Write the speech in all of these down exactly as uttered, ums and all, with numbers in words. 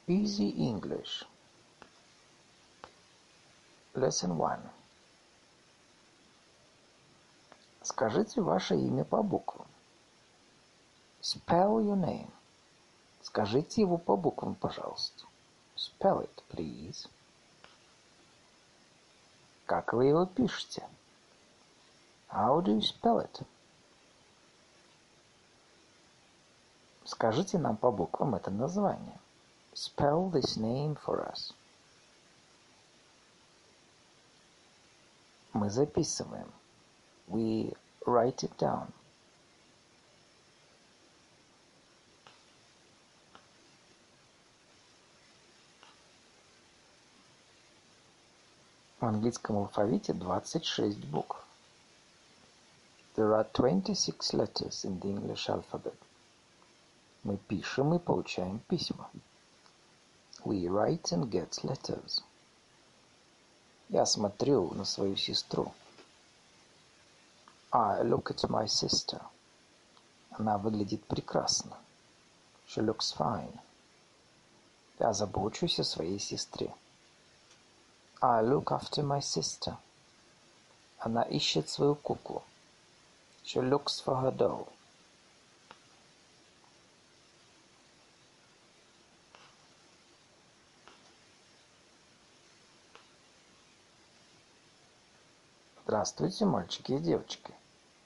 Easy English. Lesson one. Скажите ваше имя по буквам. Spell your name. Скажите его по буквам, пожалуйста. Spell it, please. Как вы его пишете? How do you spell it? Скажите нам по буквам это название. Spell this name for us. Мы записываем. We write it down. В английском алфавите двадцать шесть букв. There are twenty-six letters in the English alphabet. Мы пишем и получаем письма. We write and get letters. Я смотрю на свою сестру. I look at my sister. Она выглядит прекрасно. She looks fine. Я забочусь о своей сестре. I look after my sister. Она ищет свою куклу. She looks for her doll. Здравствуйте, мальчики и девочки.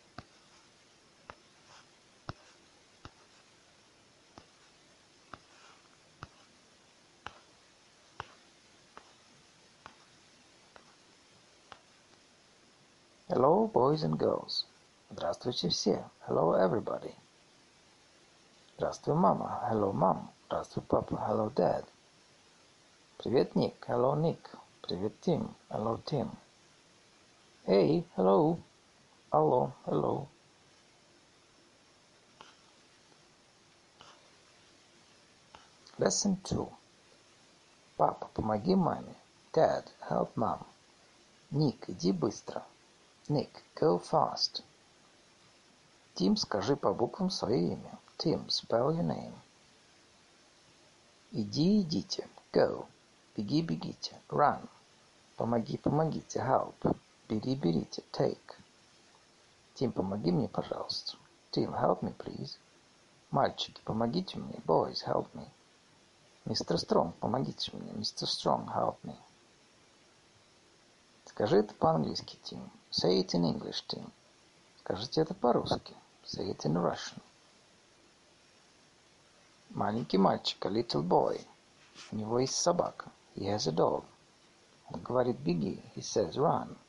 Hello, boys and girls. Здравствуйте все. Hello, everybody. Здравствуй, мама. Hello, mom. Здравствуй, папа. Hello, dad. Привет, Ник. Hello, Nick. Привет, Тим. Hello, Tim. Hey, hello. Алло, hello. Lesson two. Папа, помоги маме. Dad, help mom. Ник, иди быстро. Nick, go fast. Тим, скажи по буквам свое имя. Tim, spell your name. Иди, идите. Go. Беги, бегите. Run. Помоги, помогите. Help. Бери, берите. Take. Тим, помоги мне, пожалуйста. Tim, help me, please. Мальчики, помогите мне. Boys, help me. Мистер Стронг, помогите мне. Мистер Стронг, help me. Скажи это по-английски, Тим. Say it in English, Tim. Скажите это по-русски. Say it in Russian. Маленький мальчик, a little boy. У него есть собака. He has a dog. Он говорит беги. He says run.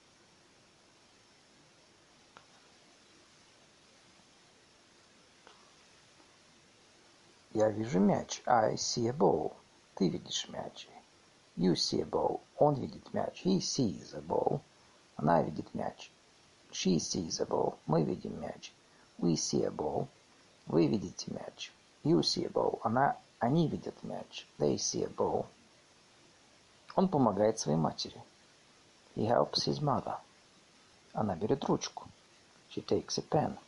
Я вижу мяч. I see a ball. Ты видишь мяч. You see a ball. Он видит мяч. He sees a ball. Она видит мяч. She sees a ball. Мы видим мяч. We see a ball. Вы видите мяч. You see a ball. Она, они видят мяч. They see a ball. Он помогает своей матери. He helps his mother. Она берет ручку. She takes a pen.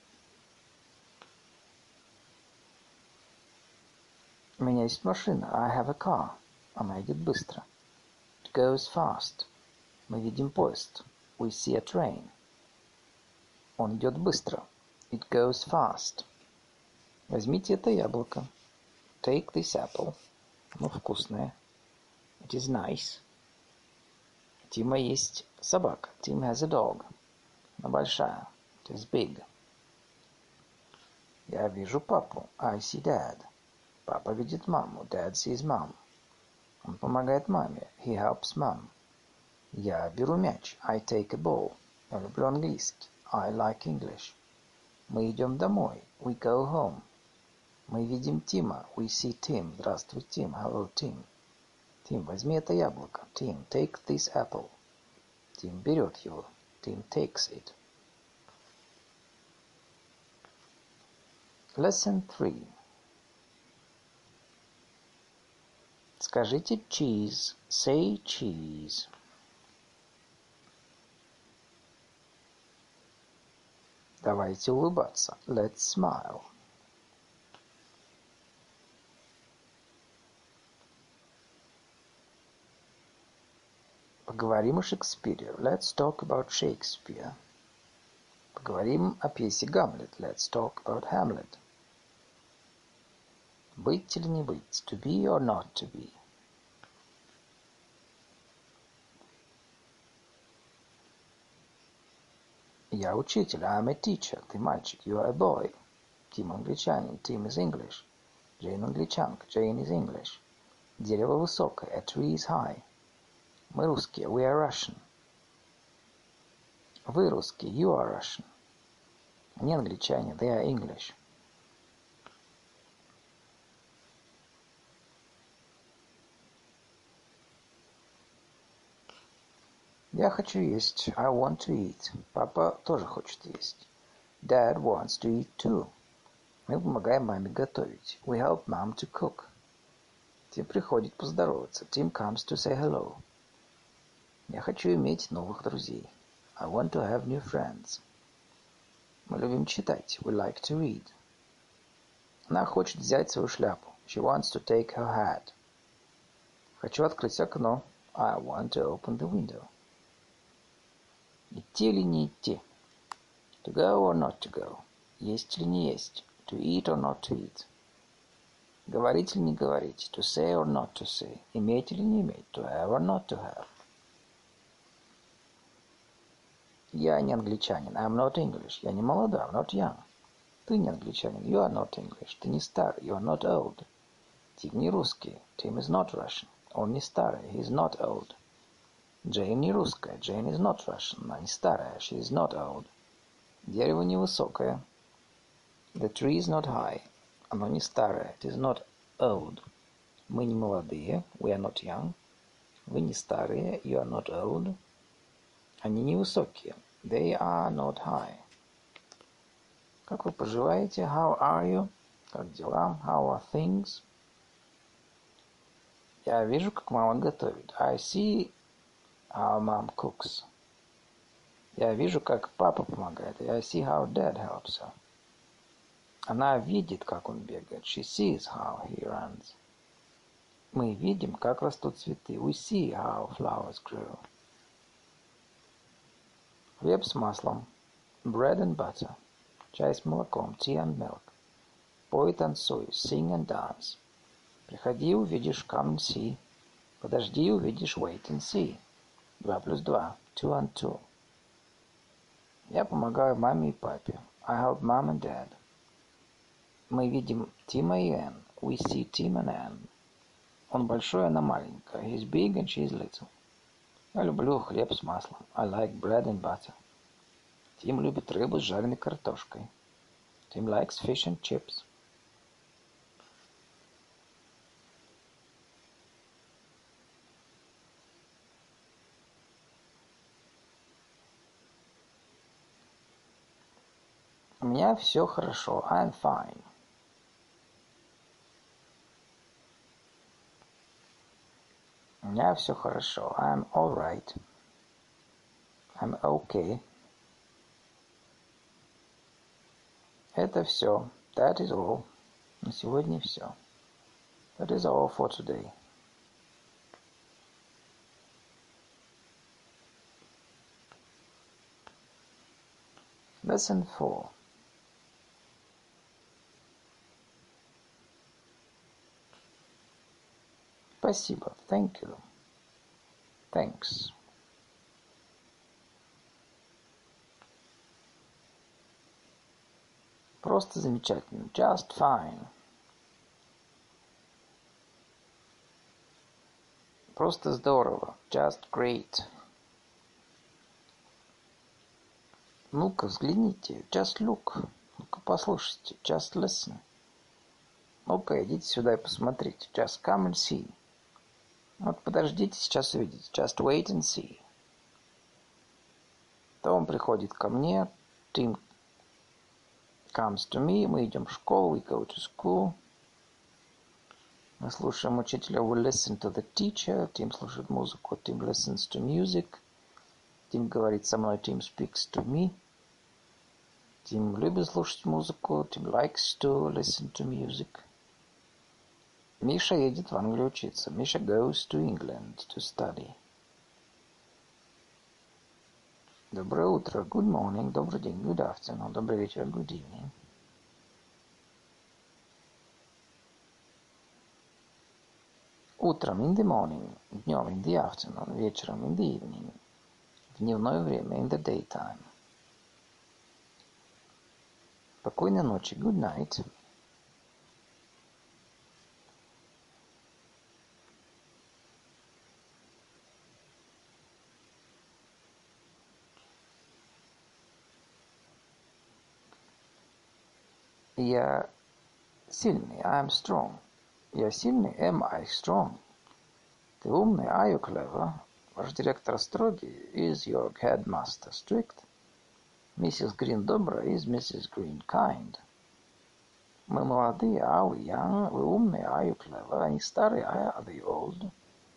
У меня есть машина. I have a car. Она идет быстро. It goes fast. Мы видим поезд. We see a train. Он идет быстро. It goes fast. Возьмите это яблоко. Take this apple. Оно вкусное. It is nice. У Тима есть собака. Tim has a dog. Она большая. It is big. Я вижу папу. I see dad. Папа видит маму. Dad sees mom. Он помогает маме. He helps mom. Я беру мяч. I take a ball. Я люблю английский. I like English. Мы идем домой. We go home. Мы видим Тима. We see Tim. Здравствуй, Тим. Hello, Tim. Тим, возьми это яблоко. Tim, take this apple. Тим берет его. Tim takes it. Lesson three. Скажите cheese. Say cheese. Давайте улыбаться. Let's smile. Поговорим о Шекспире. Let's talk about Shakespeare. Поговорим о пьесе Гамлет. Let's talk about Hamlet. Быть или не быть? To be or not to be? Я учитель. I'm a teacher. Ты мальчик. You are a boy. Тим англичанин. Tim is English. Джейн англичанка. Jane is English. Дерево высокое. A tree is high. Мы русские. We are Russian. Вы русские. You are Russian. Они англичане. They are English. Я хочу есть. I want to eat. Папа тоже хочет есть. Dad wants to eat too. Мы помогаем маме готовить. We help mom to cook. Тим приходит поздороваться. Tim comes to say hello. Я хочу иметь новых друзей. I want to have new friends. Мы любим читать. We like to read. Она хочет взять свою шляпу. She wants to take her hat. Хочу открыть окно. I want to open the window. Идти или не идти? To go or not to go? Есть или не есть? To eat or not to eat? Говорить или не говорить? To say or not to say? Иметь или не иметь? To have or not to have? Я не англичанин. I'm not English. Я не молодой. I'm not young. Ты не англичанин. You are not English. Ты не старый. You are not old. Тим не русский. Tim is not Russian. Он не старый. He is not old. Джейн не русская. Jane is not Russian. Она не старая. She is not old. Дерево невысокое. The tree is not high. Оно не старое. It is not old. Мы не молодые. We are not young. Вы не старые. You are not old. Они невысокие. They are not high. Как вы поживаете? How are you? Как дела? How are things? Я вижу, как мама готовит. I see how mom cooks. Я вижу, как папа помогает. I see how dad helps her. Она видит, как он бегает. She sees how he runs. Мы видим, как растут цветы. We see how flowers grow. Хлеб с маслом. Bread and butter. Чай с молоком. Tea and milk. Пой, танцуй. Sing and dance. Приходи, увидишь. Come and see. Подожди, увидишь. Wait and see. Два плюс два. Two and two. Я помогаю маме и папе. I help mom and dad. Мы видим Тима и Энн. We see Tim and Ann. Он большой, она маленькая. He's big and she's little. Я люблю хлеб с маслом. I like bread and butter. Тим любит рыбу с жареной картошкой. Tim likes fish and chips. У меня все хорошо. I'm fine. У меня все хорошо. I'm all right. I'm okay. Это все. That is all. На сегодня все. That is all for today. Lesson four. Спасибо. Thank you. Thanks. Просто замечательно. Just fine. Просто здорово. Just great. Ну-ка, взгляните. Just look. Ну-ка, послушайте. Just listen. Ну-ка, идите сюда и посмотрите. Just come and see. Вот подождите, сейчас увидите. Just wait and see. То он приходит ко мне. Tim comes to me. Мы идем в школу. We go to school. Мы слушаем учителя. We listen to the teacher. Tim слушает музыку. Tim listens to music. Tim говорит со мной. Tim speaks to me. Tim любит слушать музыку. Tim likes to listen to music. Миша едет в Англию учиться. Миша goes to England to study. Доброе утро. Good morning. Добрый день. Good afternoon. Добрый вечер. Good evening. Утром in the morning. Днем in the afternoon. Вечером in the evening. В дневное время in the daytime. Спокойной ночи. Good night. Я сильный. I am strong. Я сильный. Am I strong? Ты умный. Are you clever? Ваш директор строгий. Is your headmaster strict? Миссис Грин добрая. Is Missus Green kind? Мы молодые. Are we young? Вы умные. Are you clever? Они старые. Are they old?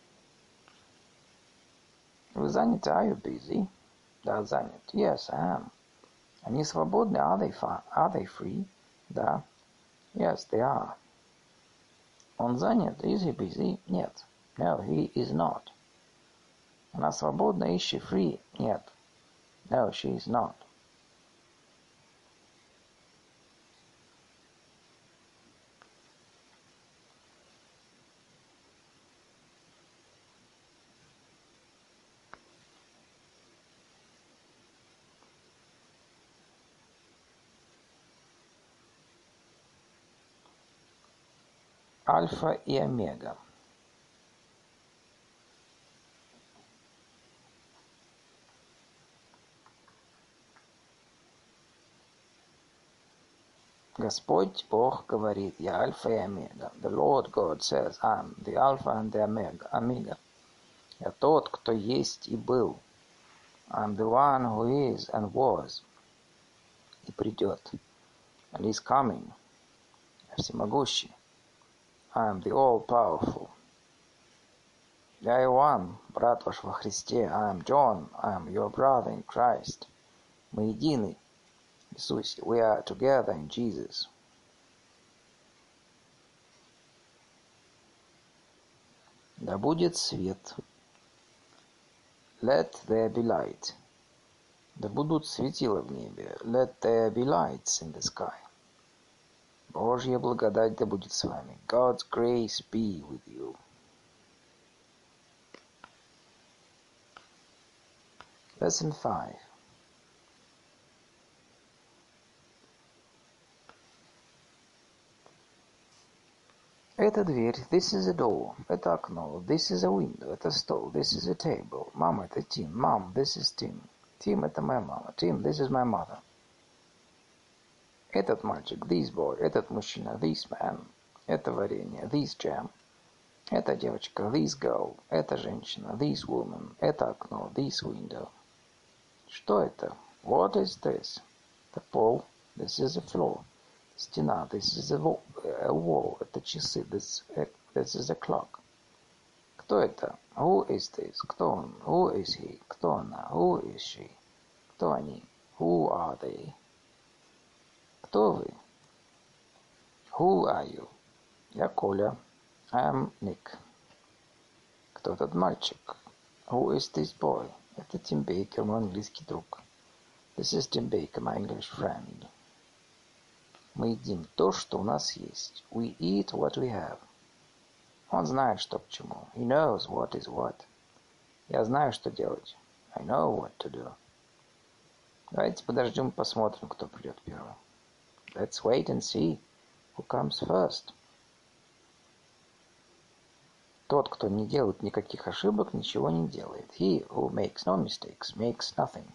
Вы заняты. Are you busy? Да, занят. Yes, I am. Они свободны. Are they, are they free? Да. Yes, they are. Он занят. Is he busy? Нет. No, he is not. Она свободна. Is she free? Нет. No, she is not. Альфа и омега. Господь Бог говорит, я альфа и омега. The Lord God says, I am the Alpha and the Omega. Omega. Я тот, кто есть и был. I am the one who is and was. И придет. And is coming. Я всемогущий. I am the all-powerful. Я Иоанн, брат ваш во Христе. I am John. I am your brother in Christ. Мы едины. В Иисусе. We are together in Jesus. Да будет свет. Let there be light. Да будут светила в небе. Let there be lights in the sky. Божья благодать да будет с вами. God's grace be with you. Lesson five. Это дверь. This is a door. Это окно. This is a window. Это стол. This is a table. Мама, это Tim. Mom, this is Tim. Tim, это моя мама. Tim, this is my mother. Этот мальчик. This boy. Этот мужчина. This man. Это варенье. This jam. Эта девочка. This girl. Эта женщина. This woman. Это окно. This window. Что это? What is this? Это пол. This is a floor. Стена. This is a wall. Это часы. This, this is a clock. Кто это? Who is this? Кто он? Who is he? Кто она? Who is she? Кто они? Who are they? Кто вы? Who are you? Я Коля. I am Nick. Кто этот мальчик? Who is this boy? Это Тим Бейкер, мой английский друг. This is Tim Baker, my English friend. Мы едим то, что у нас есть. We eat what we have. Он знает, что к чему. He knows what is what. Я знаю, что делать. I know what to do. Давайте подождем, посмотрим, кто придет первым. Let's wait and see who comes first. Тот, кто не делает никаких ошибок, ничего не делает. He who makes no mistakes makes nothing.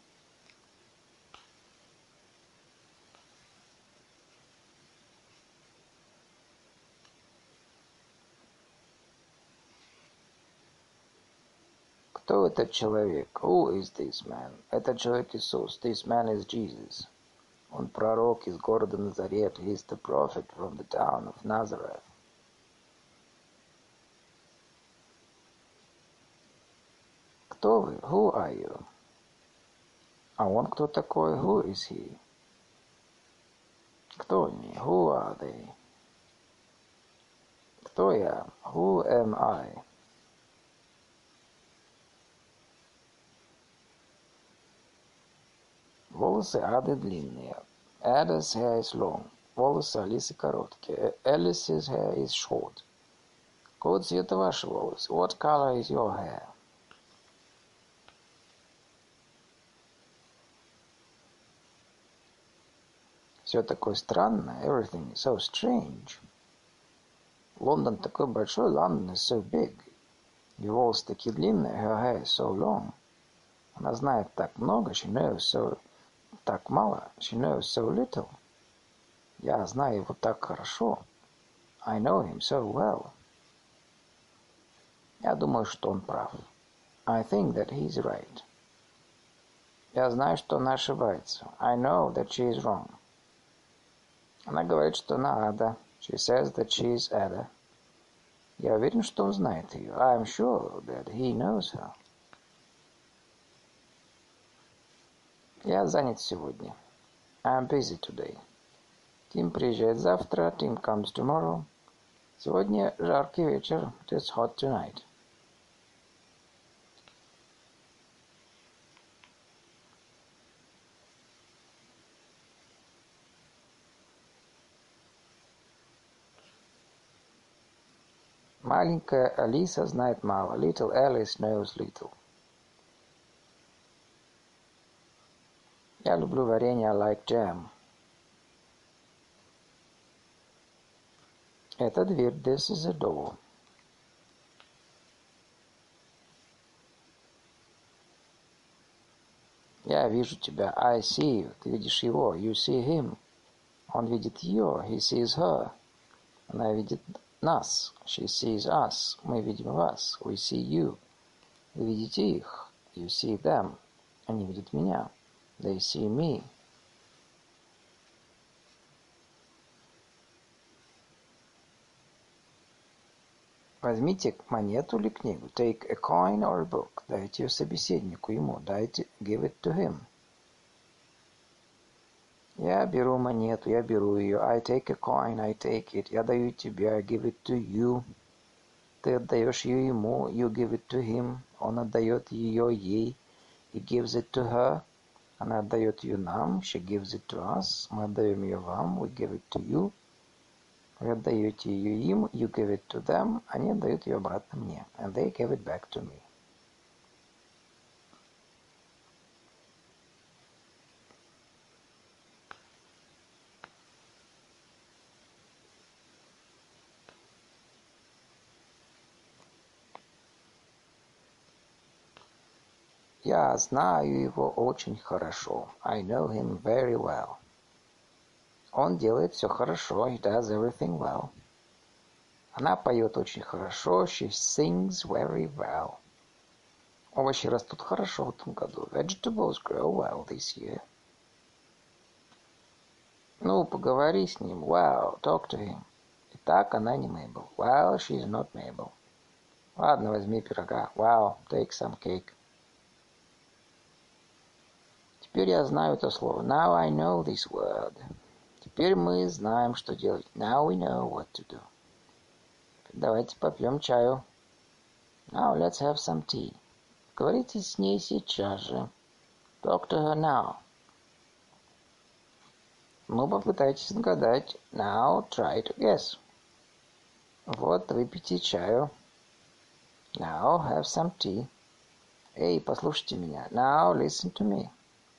Кто этот человек? Who is this man? Этот человек Иисус. This man is Jesus. Он пророк из города Назарет. He is the prophet from the town of Nazareth. Кто вы? Who are you? А он кто такой? Who is he? Кто они? Who are they? Кто я? Who am I? Волосы Ады длинные. Ada's hair is long. Волосы Алисы короткие. Alice's hair is short. Какого цвета ваши волосы? What color is your hair? Все такое странное. Everything is so strange. Лондон такой большой. London is so big. Ее волосы такие длинные. Her hair is so long. Она знает так много. She knows so... Так мало. She knows so little. Я знаю его так хорошо. I know him so well. Я думаю, что он прав. I think that he is right. Я знаю, что она ошибается. I know that she is wrong. Она говорит, что она Ада. She says that she is Ada. Я уверен, что он знает ее. I am sure that he knows her. Я занят сегодня. I am busy today. Тим приезжает завтра. Tim comes tomorrow. Сегодня жаркий вечер. It is hot tonight. Маленькая Алиса знает мало. Little Alice knows little. Я люблю варенье. I like jam. Это дверь. This is a door. Я вижу тебя. I see you. Ты видишь его. You see him. Он видит ее. He sees her. Она видит нас. She sees us. Мы видим вас. We see you. Вы видите их. You see them. Они видят меня. They see me. Возьмите монету или книгу. Take a coin or a book. Дайте ее собеседнику, ему. Дайте, give it to him. Я беру монету, я беру ее. I take a coin, I take it. Я даю тебе, I give it to you. Ты отдаешь ее ему, you give it to him. Он отдает ее ей, he gives it to her. Она отдает ее нам, she gives it to us. Мы отдаем ее вам, we give it to you. Вы отдаете ее им, you give it to them. Они отдают ее обратно мне, and they give it back to me. Я знаю его очень хорошо. I know him very well. Он делает все хорошо. He does everything well. Она поет очень хорошо. She sings very well. Овощи растут хорошо в этом году. Vegetables grow well this year. Ну, поговори с ним. Well, talk to him. Итак, она не Mabel. Well, she's not Mabel. Ладно, возьми пирога. Well, take some cake. Теперь я знаю это слово. Now I know this word. Теперь мы знаем, что делать. Now we know what to do. Давайте попьем чаю. Now let's have some tea. Говорите с ней сейчас же. Talk to her now. Ну, попытайтесь отгадать. Now try to guess. Вот, выпейте чаю. Now have some tea. Эй, послушайте меня. Now listen to me.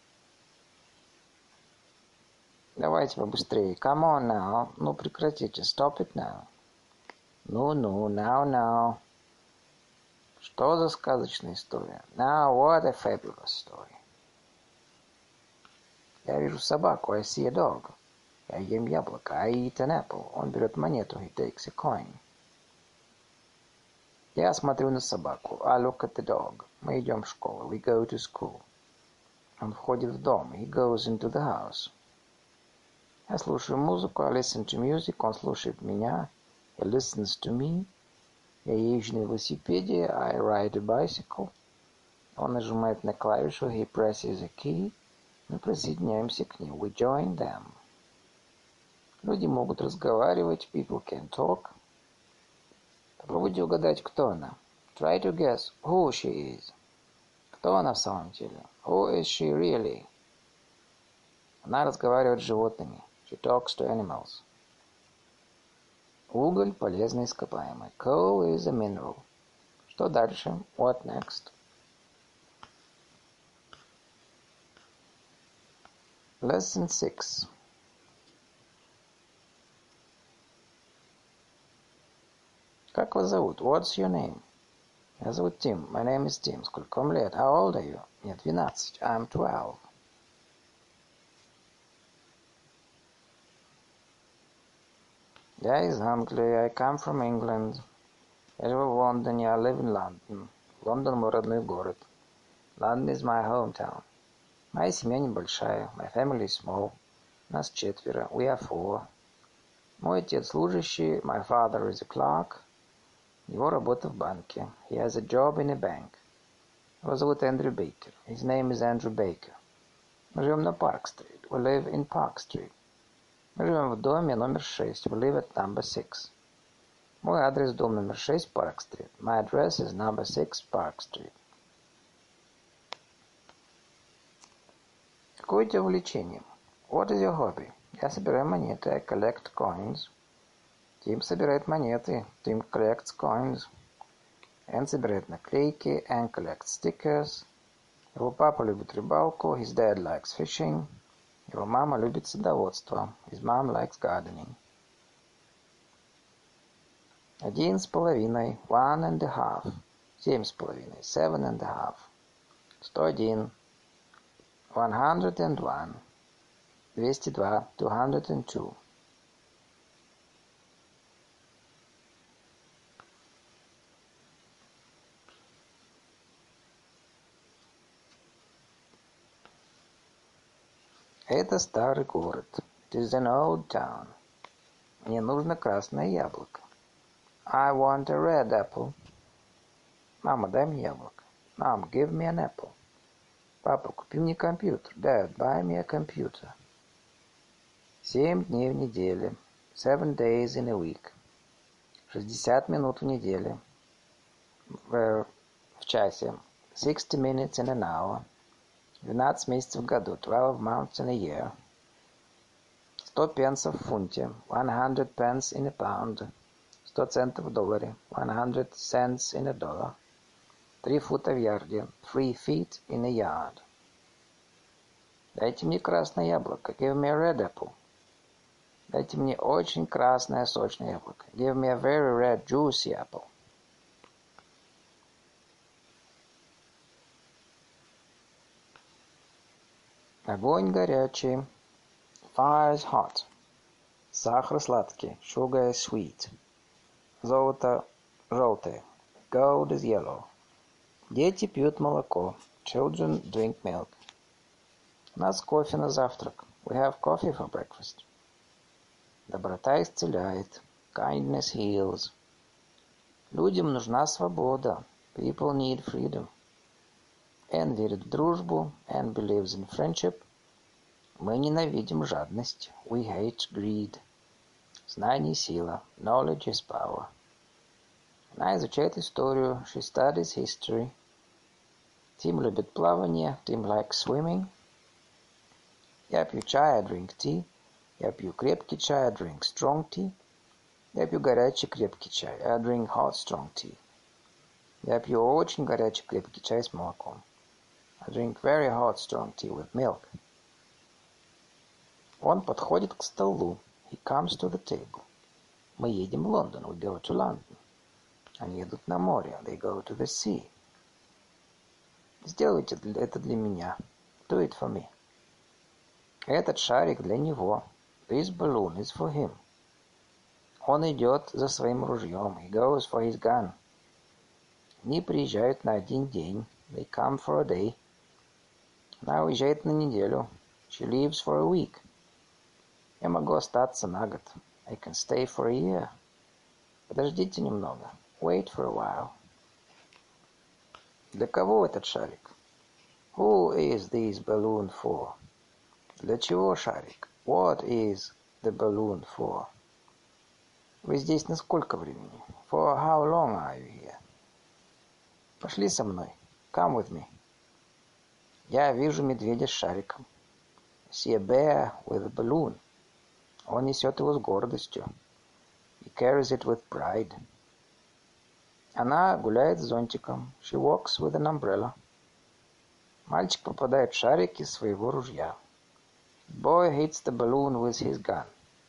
Давайте побыстрее. Come on now. Ну, прекратите. Stop it now. Ну-ну, now, now. Что за сказочная история? Now, what a fabulous story. Я вижу собаку. I see a dog. Я ем яблоко. I eat an apple. Он берет монету. He takes a coin. Я смотрю на собаку. I look at the dog. Мы идем в школу. We go to school. Он входит в дом. He goes into the house. Я слушаю музыку. I listen to music. Он слушает меня. He listens to me. Я езжу на велосипеде. I ride a bicycle. Он нажимает на клавишу. He presses a key. Мы присоединяемся к ним. We join them. Люди могут разговаривать. People can talk. Попробуйте угадать, кто она. Try to guess who she is. Кто она в самом деле? Who is she really? Она разговаривает с животными. She talks to animals. Уголь – полезное ископаемое. Coal is a mineral. Что дальше? What next? Lesson six. Как вас зовут? What's your name? Меня зовут Тим. My name is Tim. Сколько вам лет? How old are you? Мне двенадцать. I'm twelve. Я из Англии. I come from England. Я живу в Лондоне. I live in London. Лондон мой родной город. London is my hometown. Моя семья небольшая. My family is small. Нас четверо. We are four. Мой отец служащий. My father is a clerk. Его работа в банке. He has a job in a bank. Его зовут Эндрю Бейкер. His name is Andrew Baker. Мы живем на Парк-стрит. We live in Park Street. Мы живем в доме номер шесть. We live at number six. Мой адрес дом номер шесть, Парк-стрит. My address is number six, Park Street. Какое у тебя увлечение? What is your hobby? Я собираю монеты. I collect coins. Тим собирает монеты. Tim collects coins. Энн собирает наклейки. Ann collects stickers. Его папа любит рыбалку. His dad likes fishing. Его мама любит садоводство. His mom likes gardening. Один с половиной. One and a half. Семь с половиной. Seven and a half. Сто один. One hundred and one. Двести два. Two hundred and two. Это старый город. It is an old town. Мне нужно красное яблоко. I want a red apple. Мама, дай мне яблоко. Mom, give me an apple. Папа, купи мне компьютер. Dad, buy me a computer. Семь дней в неделе. Seven days in a week. Шестьдесят минут в неделе. В, в часе. Sixty minutes in an hour. Двенадцать месяцев в году. Twelve months in a year. Сто пенсов в фунте. One hundred pence in a pound. Сто центов в долларе. One hundred cents in a dollar. Три фута в ярде. Three feet in a yard. Дайте мне красное яблоко. Give me a red apple. Дайте мне очень красное сочное яблоко. Give me a very red juicy apple. Огонь горячий. Fire is hot. Сахар сладкий. Sugar is sweet. Золото желтое. Gold is yellow. Дети пьют молоко. Children drink milk. У нас кофе на завтрак. We have coffee for breakfast. Доброта исцеляет. Kindness heals. Людям нужна свобода. People need freedom. Энн верит в дружбу. Ann believes in friendship. Мы ненавидим жадность. We hate greed. Знание – сила. Knowledge is power. Она изучает историю. She studies history. Тим любит плавание. Tim likes swimming. Я пью чай, I drink tea. Я пью крепкий чай, I drink strong tea. Я пью горячий крепкий чай. I drink hot strong tea. Я пью очень горячий крепкий чай с молоком. I drink very hot strong tea with milk. Он подходит к столу. He comes to the table. Мы едем в Лондон. We go to London. Они едут на море. They go to the sea. Сделайте это для меня. Do it for me. Этот шарик для него. This balloon is for him. Он идет за своим ружьем. He goes for his gun. Они приезжают на один день. They come for a day. Она уезжает на неделю. She leaves for a week. Я могу остаться на год. I can stay for a year. Подождите немного. Wait for a while. Для кого этот шарик? Who is this balloon for? Для чего шарик? What is the balloon for? Вы здесь на сколько времени? For how long are you here? Пошли со мной. Come with me. Я вижу медведя с шариком. See a bear with a balloon. Он несет его с гордостью. He carries it with pride. Она гуляет с зонтиком. She walks with an umbrella. Мальчик попадает в шарик из своего ружья. The boy hits the balloon with his gun.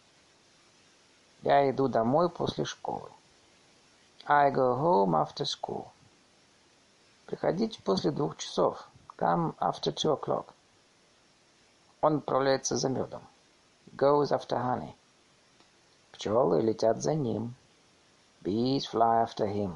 Я иду домой после школы. I go home after school. Приходите после двух часов. Come after two o'clock. Он отправляется за медом. He goes after honey. Пчелы летят за ним. Bees fly after him.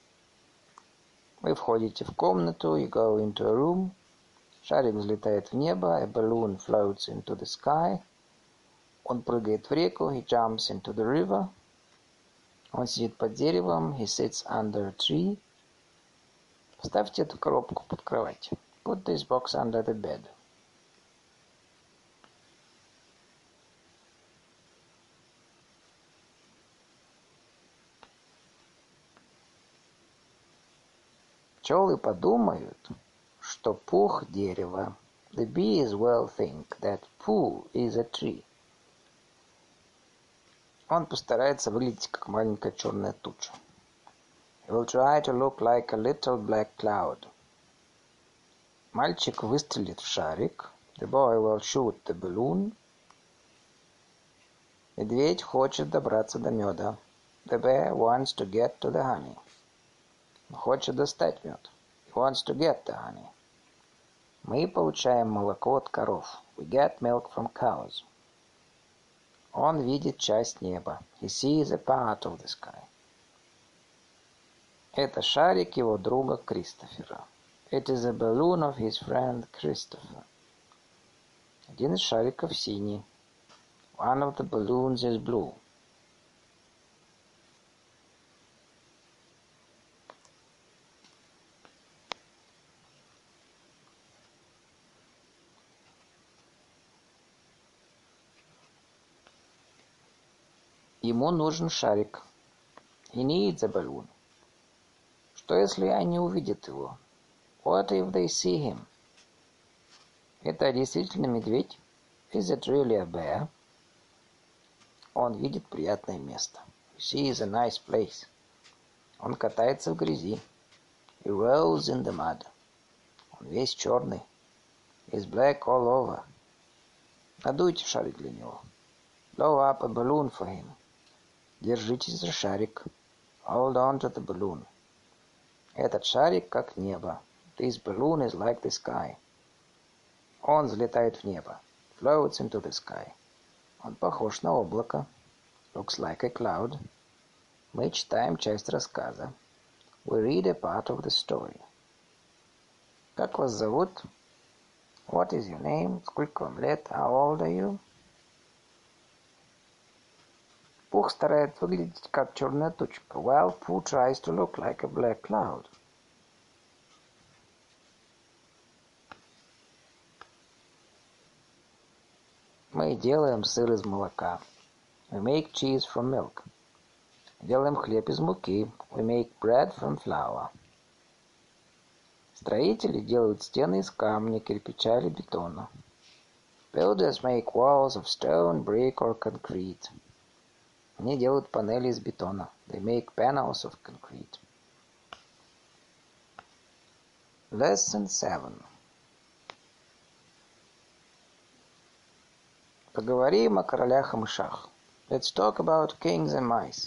Вы входите в комнату. You go into a room. Шарик взлетает в небо. A balloon floats into the sky. Он прыгает в реку. He jumps into the river. Он сидит под деревом. He sits under a tree. Поставьте эту коробку под кровать. Put this box under the bed. Пчелы подумают, что пух дерево. The bees will think that poo is a tree. Он постарается выглядеть как маленькая черная туча. He will try to look like a little black cloud. Мальчик выстрелит в шарик. The boy will shoot the balloon. Медведь хочет добраться до меда. The bear wants to get to the honey. Он хочет достать мед. He wants to get the honey. Мы получаем молоко от коров. We get milk from cows. Он видит часть неба. He sees a part of the sky. Это шарик его друга Кристофера. It is a balloon of his friend Christopher. Один из шариков синий. One of the balloons is blue. Ему нужен шарик. He needs a balloon. Что, если они увидят его? What if they see him? Это действительно медведь? Is it really a bear? Он видит приятное место. He sees a nice place. Он катается в грязи. He rolls in the mud. Он весь черный. He's black all over. Надуйте шарик для него. Blow up a balloon for him. Держитесь за шарик. Hold on to the balloon. Этот шарик как небо. This balloon is like the sky. Он взлетает в небо. Floats into the sky. Он похож на облако. Looks like a cloud. Мы читаем часть рассказа. We read a part of the story. Как вас зовут? What is your name? Сколько вам лет? How old are you? Пух старается выглядеть как черная тучка. Well, Pooh tries to look like a black cloud. Мы делаем сыр из молока. We make cheese from milk. Делаем хлеб из муки. We make bread from flour. Строители делают стены из камня, кирпича или бетона. Builders make walls of stone, brick or concrete. Они делают панели из бетона. They make panels of concrete. Lesson seven. Поговорим о королях и мышах. Let's talk about kings and mice.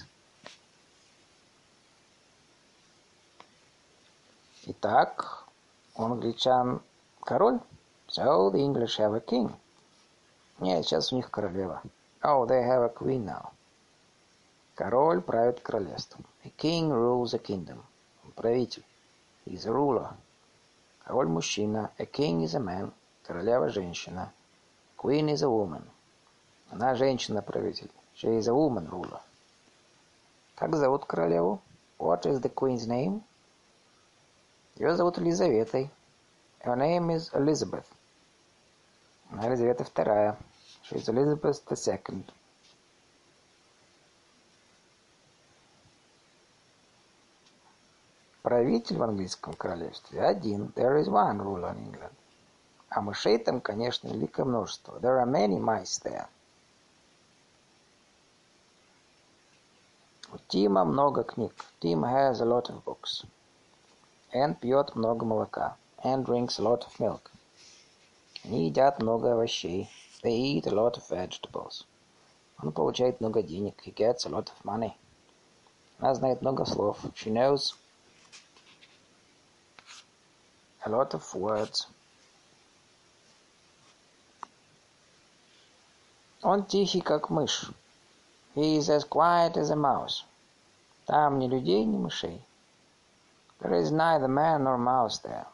Итак, у англичан король. So the English have a king. Нет, сейчас у них королева. Oh, they have a queen now. Король правит королевством. A king rules a kingdom. Правитель. He is a ruler. Король мужчина. A king is a man. Королева женщина. Queen is a woman. Она женщина-правитель. She is a woman ruler. Как зовут королеву? What is the queen's name? Ее зовут Елизаветой. Her name is Elizabeth. Она Елизавета вторая. She is Elizabeth the second. Правитель в английском королевстве один. There is one ruler in England. А мышей там, конечно, великое множество. There are many mice there. У Тима много книг. Tim has a lot of books. Энн пьет много молока. Anne drinks a lot of milk. Они едят много овощей. They eat a lot of vegetables. Он получает много денег. He gets a lot of money. Она знает много слов. She knows a lot of words. Он тихий, как мышь. He is as quiet as a mouse. Там ни людей, ни мышей. There is neither man nor mouse there.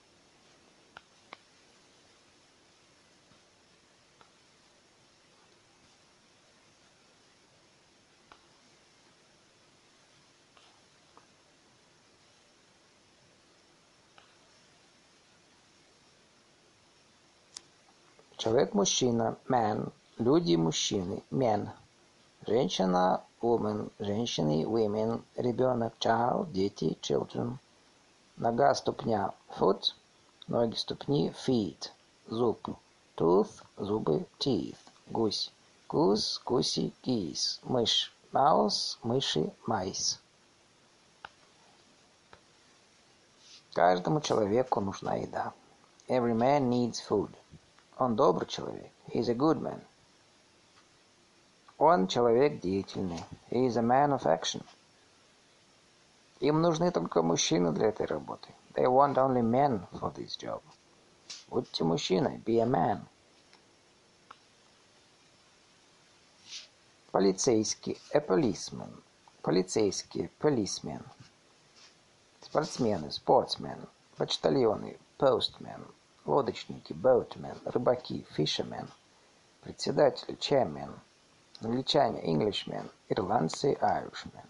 Человек-мужчина, man. Люди-мужчины, men. Женщина, woman. Женщины, women. Ребенок, child. Дети, children. Нога, ступня, foot. Ноги, ступни, feet. Зуб, tooth. Зубы, teeth. Гусь, goose. Гуси, geese. Мышь, mouse. Мыши, mice. Каждому человеку нужна еда. Every man needs food. Он добрый человек. He is a good man. Он человек деятельный. He is a man of action. Им нужны только мужчины для этой работы. They want only men for this job. Будьте мужчиной. Be a man. Полицейский. A policeman. Полицейские. Policemen. Спортсмены. Sportsmen. Почтальоны. Postmen. Лодочники, boatmen, рыбаки, fishermen, председатели, chairman, англичане, Englishmen, ирландцы, Irishmen.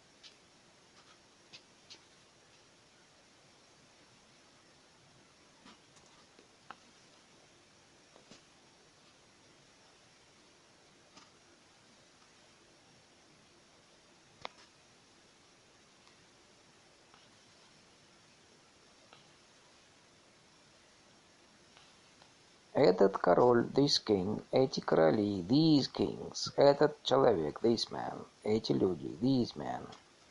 Этот король, this king, эти короли, these kings, этот человек, this man, эти люди, these men.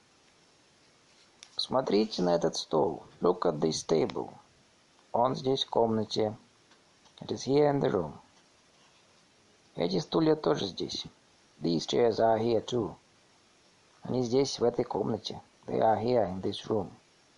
Посмотрите на этот стол. Look at this table. Он здесь в комнате. It is here in the room. Эти стулья тоже здесь. These chairs are here too. Они здесь, в этой комнате. They are here in this room.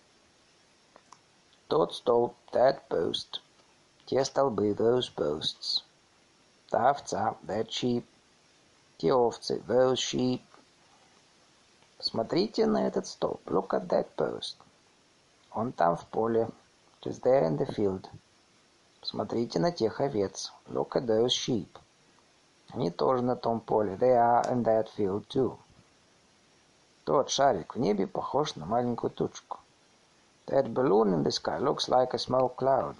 Тот стол, that post. Те столбы, those posts. Та овца, that sheep. Те овцы, those sheep. Посмотрите на этот столб. Look at that post. Он там в поле. It is there in the field. Посмотрите на тех овец. Look at those sheep. Они тоже на том поле. They are in that field too. Тот шарик в небе похож на маленькую тучку. That balloon in the sky looks like a small cloud.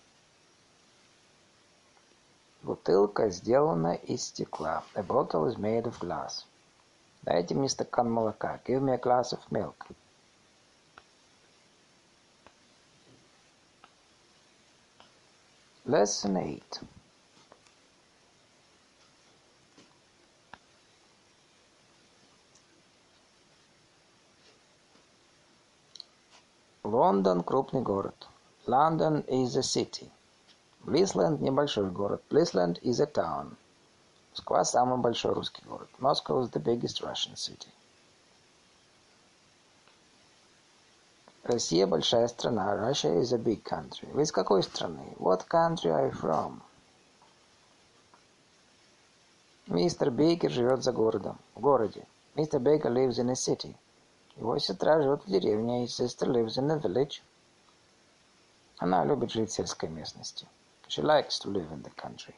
Бутылка сделана из стекла. A bottle is made of glass. Дайте мне стакан молока. Give me a glass of milk. Lesson eight. Лондон – крупный город. London is a city. Блисленд – небольшой город. Блисленд is a town. Москва – самый большой русский город. Moscow is the biggest Russian city. Россия – большая страна. Russia is a big country. Вы из какой страны? What country are you from? Мистер Бейкер живет за городом. В городе. Мистер Бейкер lives in a city. Его сестра живет в деревне. His sister lives in a village. Она любит жить в сельской местности. She likes to live in the country.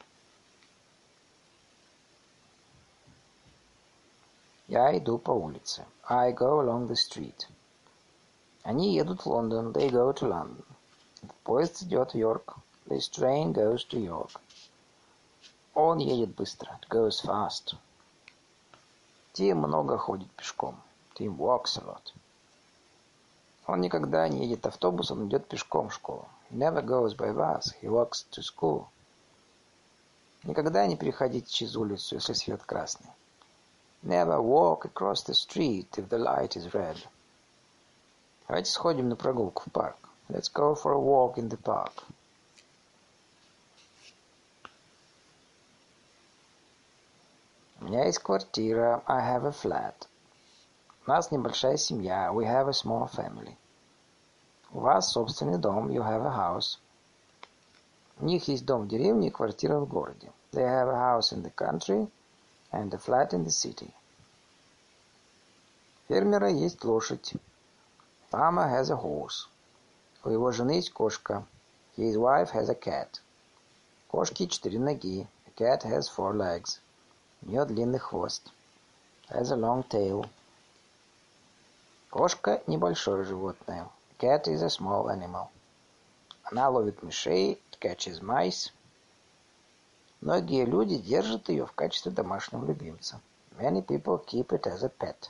Я иду по улице. I go along the street. Они едут в Лондон. They go to London. Этот поезд идет в Йорк. This train goes to York. Он едет быстро. It goes fast. Тим много ходит пешком. Tim walks a lot. Он никогда не едет автобусом, идет пешком в школу. He never goes by bus, he walks to school. Никогда не переходите через улицу, если свет красный. Never walk across the street if the light is red. Давайте сходим на прогулку в парк. Let's go for a walk in the park. У меня есть квартира. I have a flat. У нас небольшая семья. We have a small family. У вас собственный дом. You have a house. У них есть дом в деревне и квартира в городе. They have a house in the country and a flat in the city. У фермера есть лошадь. Farmer has a horse. У его жены есть кошка. His wife has a cat. Кошки четыре ноги. A cat has four legs. У нее длинный хвост. Has a long tail. Кошка небольшое животное. A cat is a small animal. Она ловит мышей. It catches mice. Многие люди держат ее в качестве домашнего любимца. Many people keep it as a pet.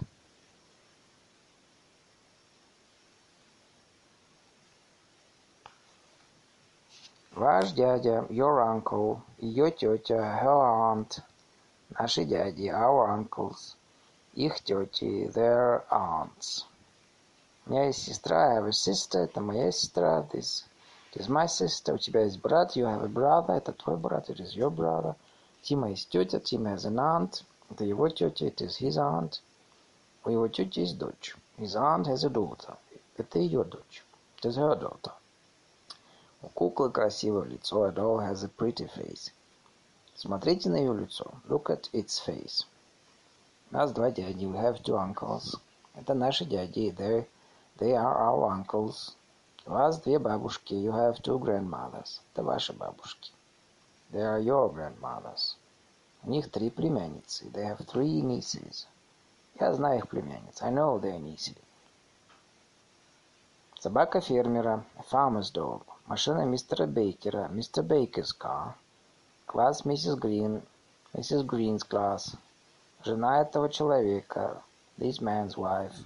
Ваш дядя, your uncle, ее тетя, her aunt, наши дяди, our uncles, их тети, their aunts. У меня есть сестра, I have a sister, это моя сестра, this is my sister. У тебя есть брат, you have a brother, это твой брат, it is your brother. Тима есть тетя, Tim has an aunt, это его тетя, it is his aunt. У его тети есть дочь, his aunt has a daughter, это ее дочь, it is her daughter. У куклы красивое лицо. A doll has a pretty face. Смотрите на ее лицо. Look at its face. У нас два дяди. We have two uncles. Это наши дяди. They, they are our uncles. У вас две бабушки. You have two grandmothers. Это ваши бабушки. They are your grandmothers. У них три племянницы. They have three nieces. Я знаю их племянниц. I know their nieces. Собака фермера. A farmer's dog. Машина мистера Бейкера. Mister Baker's car. Класс миссис Грин. Миссис Грин's class. Жена этого человека. This man's wife.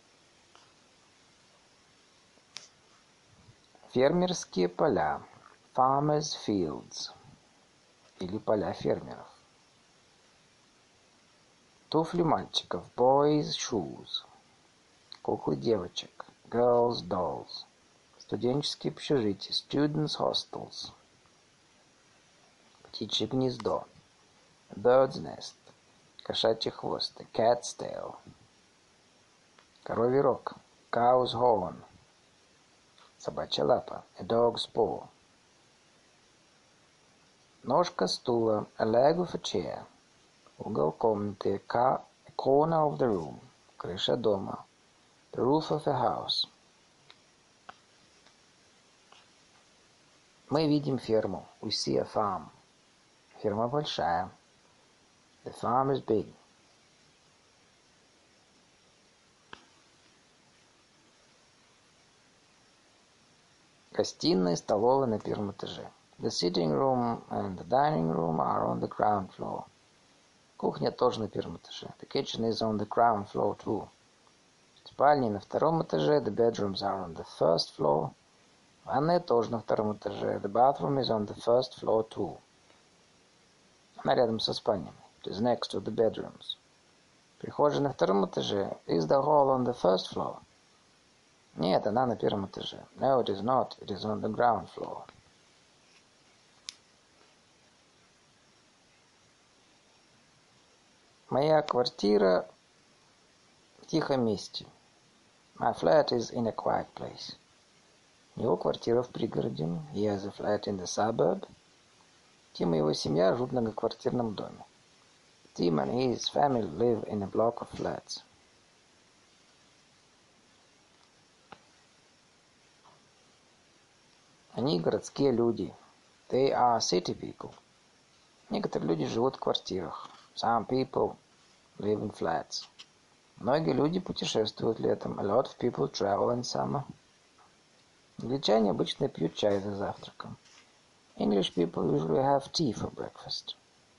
Фермерские поля. Farmer's fields. Или поля фермеров. Туфли мальчиков. Boys' shoes. Куклы девочек. Girls' dolls. Студенческие общежития. Students' hostels. Птичье гнездо. Bird's nest. Кошачий хвост. Cat's tail. Коровий рог. Cow's horn. Собачья лапа. A dog's paw. Ножка стула. A leg of a chair. Угол комнаты. A corner of the room. Крыша дома. The roof of a house. Мы видим ферму. We see a farm. Ферма большая. The farm is big. Гостиная и столовая на первом этаже. The sitting room and the dining room are on the ground floor. Кухня тоже на первом этаже. The kitchen is on the ground floor too. Спальни на втором этаже. The bedrooms are on the first floor. Ванная тоже на втором этаже. The bathroom is on the first floor too. Она рядом со спальнями. It is next to the bedrooms. Прихожая на втором этаже. Is the hall on the first floor? Нет, она на первом этаже. No, it is not. It is on the ground floor. Моя квартира в тихом месте. My flat is in a quiet place. У него квартира в пригороде. He has a flat in the suburb. Тим и его семья живут в многоквартирном доме. Tim and his family live in a block of flats. Они городские люди. They are city people. Некоторые люди живут в квартирах. Some people live in flats. Многие люди путешествуют летом. A lot of people travel in summer. Англичане обычно пьют чай за завтраком. English people usually have tea for breakfast.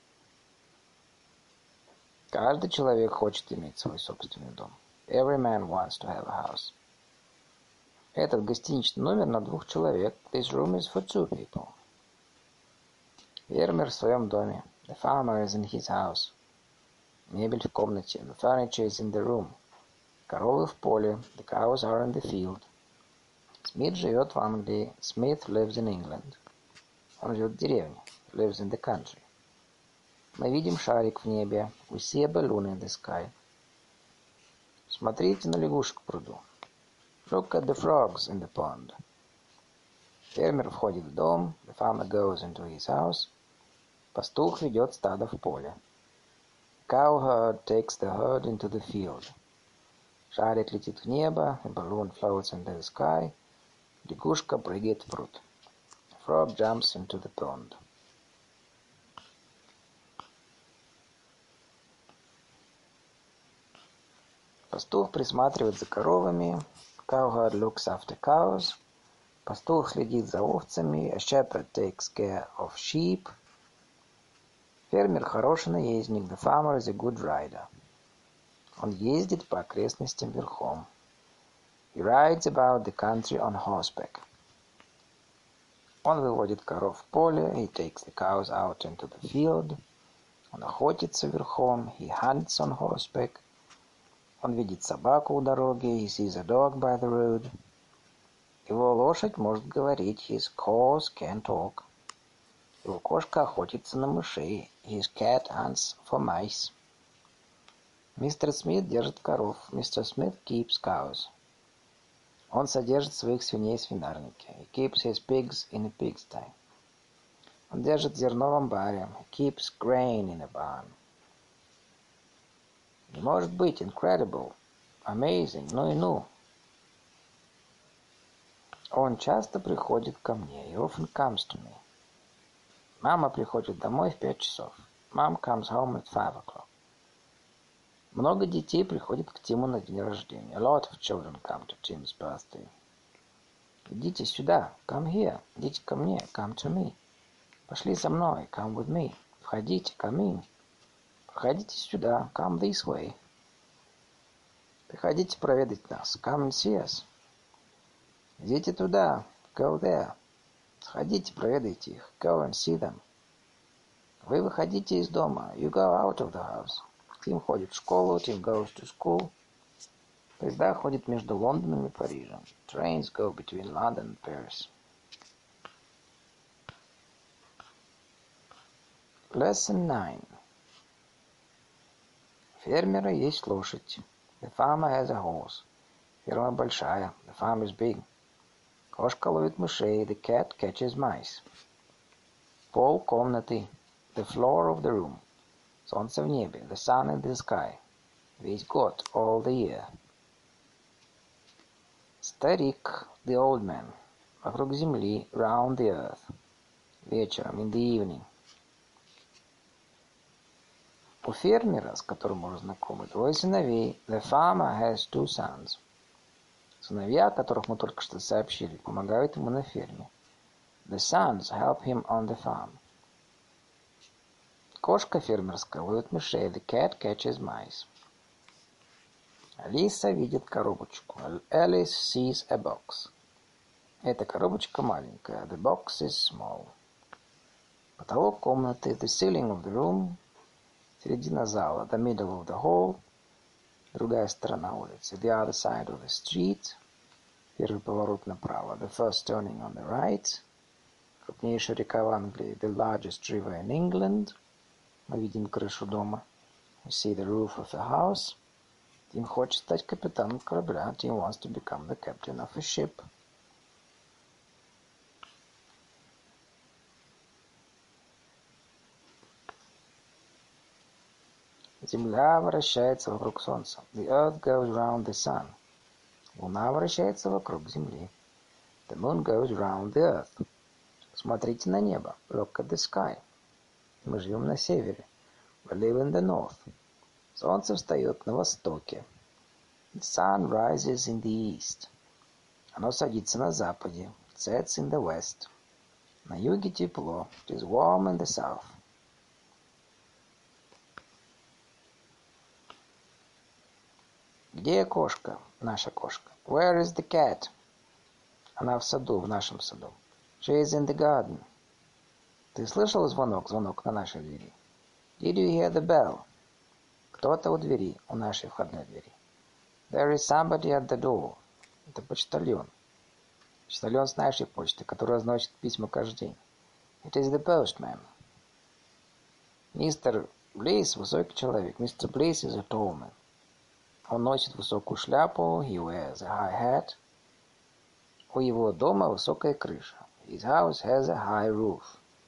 Каждый человек хочет иметь свой собственный дом. Every man wants to have a house. Этот гостиничный номер на двух человек. This room is for two people. Фермер в своем доме. The farmer is in his house. Мебель в комнате. The furniture is in the room. Коровы в поле. The cows are in the field. Смит живет в Англии. Smith lives in England. Он живет в деревне. He lives in the country. Мы видим шарик в небе. We see a balloon in the sky. Смотрите на лягушек в пруду. Look at the frogs in the pond. Фермер входит в дом. The farmer goes into his house. Пастух ведет стадо в поле. Cowherd takes the herd into the field. Шарик летит в небо. The balloon floats into the sky. Лягушка прыгает в пруд. The frog jumps into the pond. Пастух присматривает за коровами. Cowherd looks after cows. Пастух следит за овцами. A shepherd takes care of sheep. Фермер хороший наездник. The farmer is a good rider. Он ездит по окрестностям верхом. He rides about the country on horseback. Он выводит коров в поле. He takes the cows out into the field. Он охотится верхом. He hunts on horseback. Он видит собаку у дороги. He sees a dog by the road. Его лошадь может говорить. His horse can talk. Его кошка охотится на мышей. His cat hunts for mice. Мистер Смит держит коров. Mister Smith keeps cows. Он содержит своих свиней в свинарнике. He keeps his pigs in a pigsty. Он держит зерно в амбаре. He keeps grain in a barn. Не может быть, incredible, amazing, ну и ну. Он часто приходит ко мне. He often comes to me. Мама приходит домой в пять часов. Mom comes home at five o'clock. Много детей приходит к Тиму на день рождения. A lot of children come to Tim's birthday. Идите сюда. Come here. Идите ко мне. Come to me. Пошли за мной. Come with me. Входите. Come in. Проходите сюда. Come this way. Приходите проведать нас. Come and see us. Идите туда. Go there. Сходите, проведайте их. Go and see them. Вы выходите из дома. You go out of the house. Тим ходит в школу. Tim goes to school. Поезда ходят между Лондоном и Парижем. Trains go between London and Paris. Lesson nine. У фермера есть лошадь. The farmer has a horse. Ферма большая. The farm is big. Кошка ловит мышей. The cat catches mice. Пол комнаты. The floor of the room. Солнце в небе. The sun in the sky. Весь год. All the year. Старик. The old man. Вокруг земли. Round the earth. Вечером. In the evening. У фермера, с которым мы уже знакомы, двое сыновей. The farmer has two sons. Сыновья, о которых мы только что сообщили, помогают ему на ферме. The sons help him on the farm. Кошка фермерская ловит мышей. The cat catches mice. Алиса видит коробочку. Alice sees a box. Эта коробочка маленькая. The box is small. Потолок комнаты. The ceiling of the room. Середина зала. The middle of the hall. Другая сторона улицы. The other side of the street. Первый поворот направо. The first turning on the right. Крупнейшая река в Англии. The largest river in England. Мы видим крышу дома. We see the roof of a house. Тим хочет стать капитаном корабля. Tim wants to become the captain of a ship. Земля вращается вокруг Солнца. The earth goes round the sun. Луна вращается вокруг Земли. The moon goes round the earth. Смотрите на небо. Look at the sky. Мы живем на севере. We live in the north. Солнце встает на востоке. The sun rises in the east. Оно садится на западе. It sets in the west. На юге тепло. It is warm in the south. Где кошка? Наша кошка. Where is the cat? Она в саду, в нашем саду. She is in the garden. Ты слышал звонок, звонок на нашей двери? Did you hear the bell? Кто-то у двери, у нашей входной двери. There is somebody at the door. Это почтальон. Почтальон с нашей почты, который разносит письма каждый день. It is the postman. Мистер Блейз высокий человек. Мистер Блейз is a tall man. Он носит высокую шляпу. He wears a high hat. У его дома высокая крыша. His house has a high roof.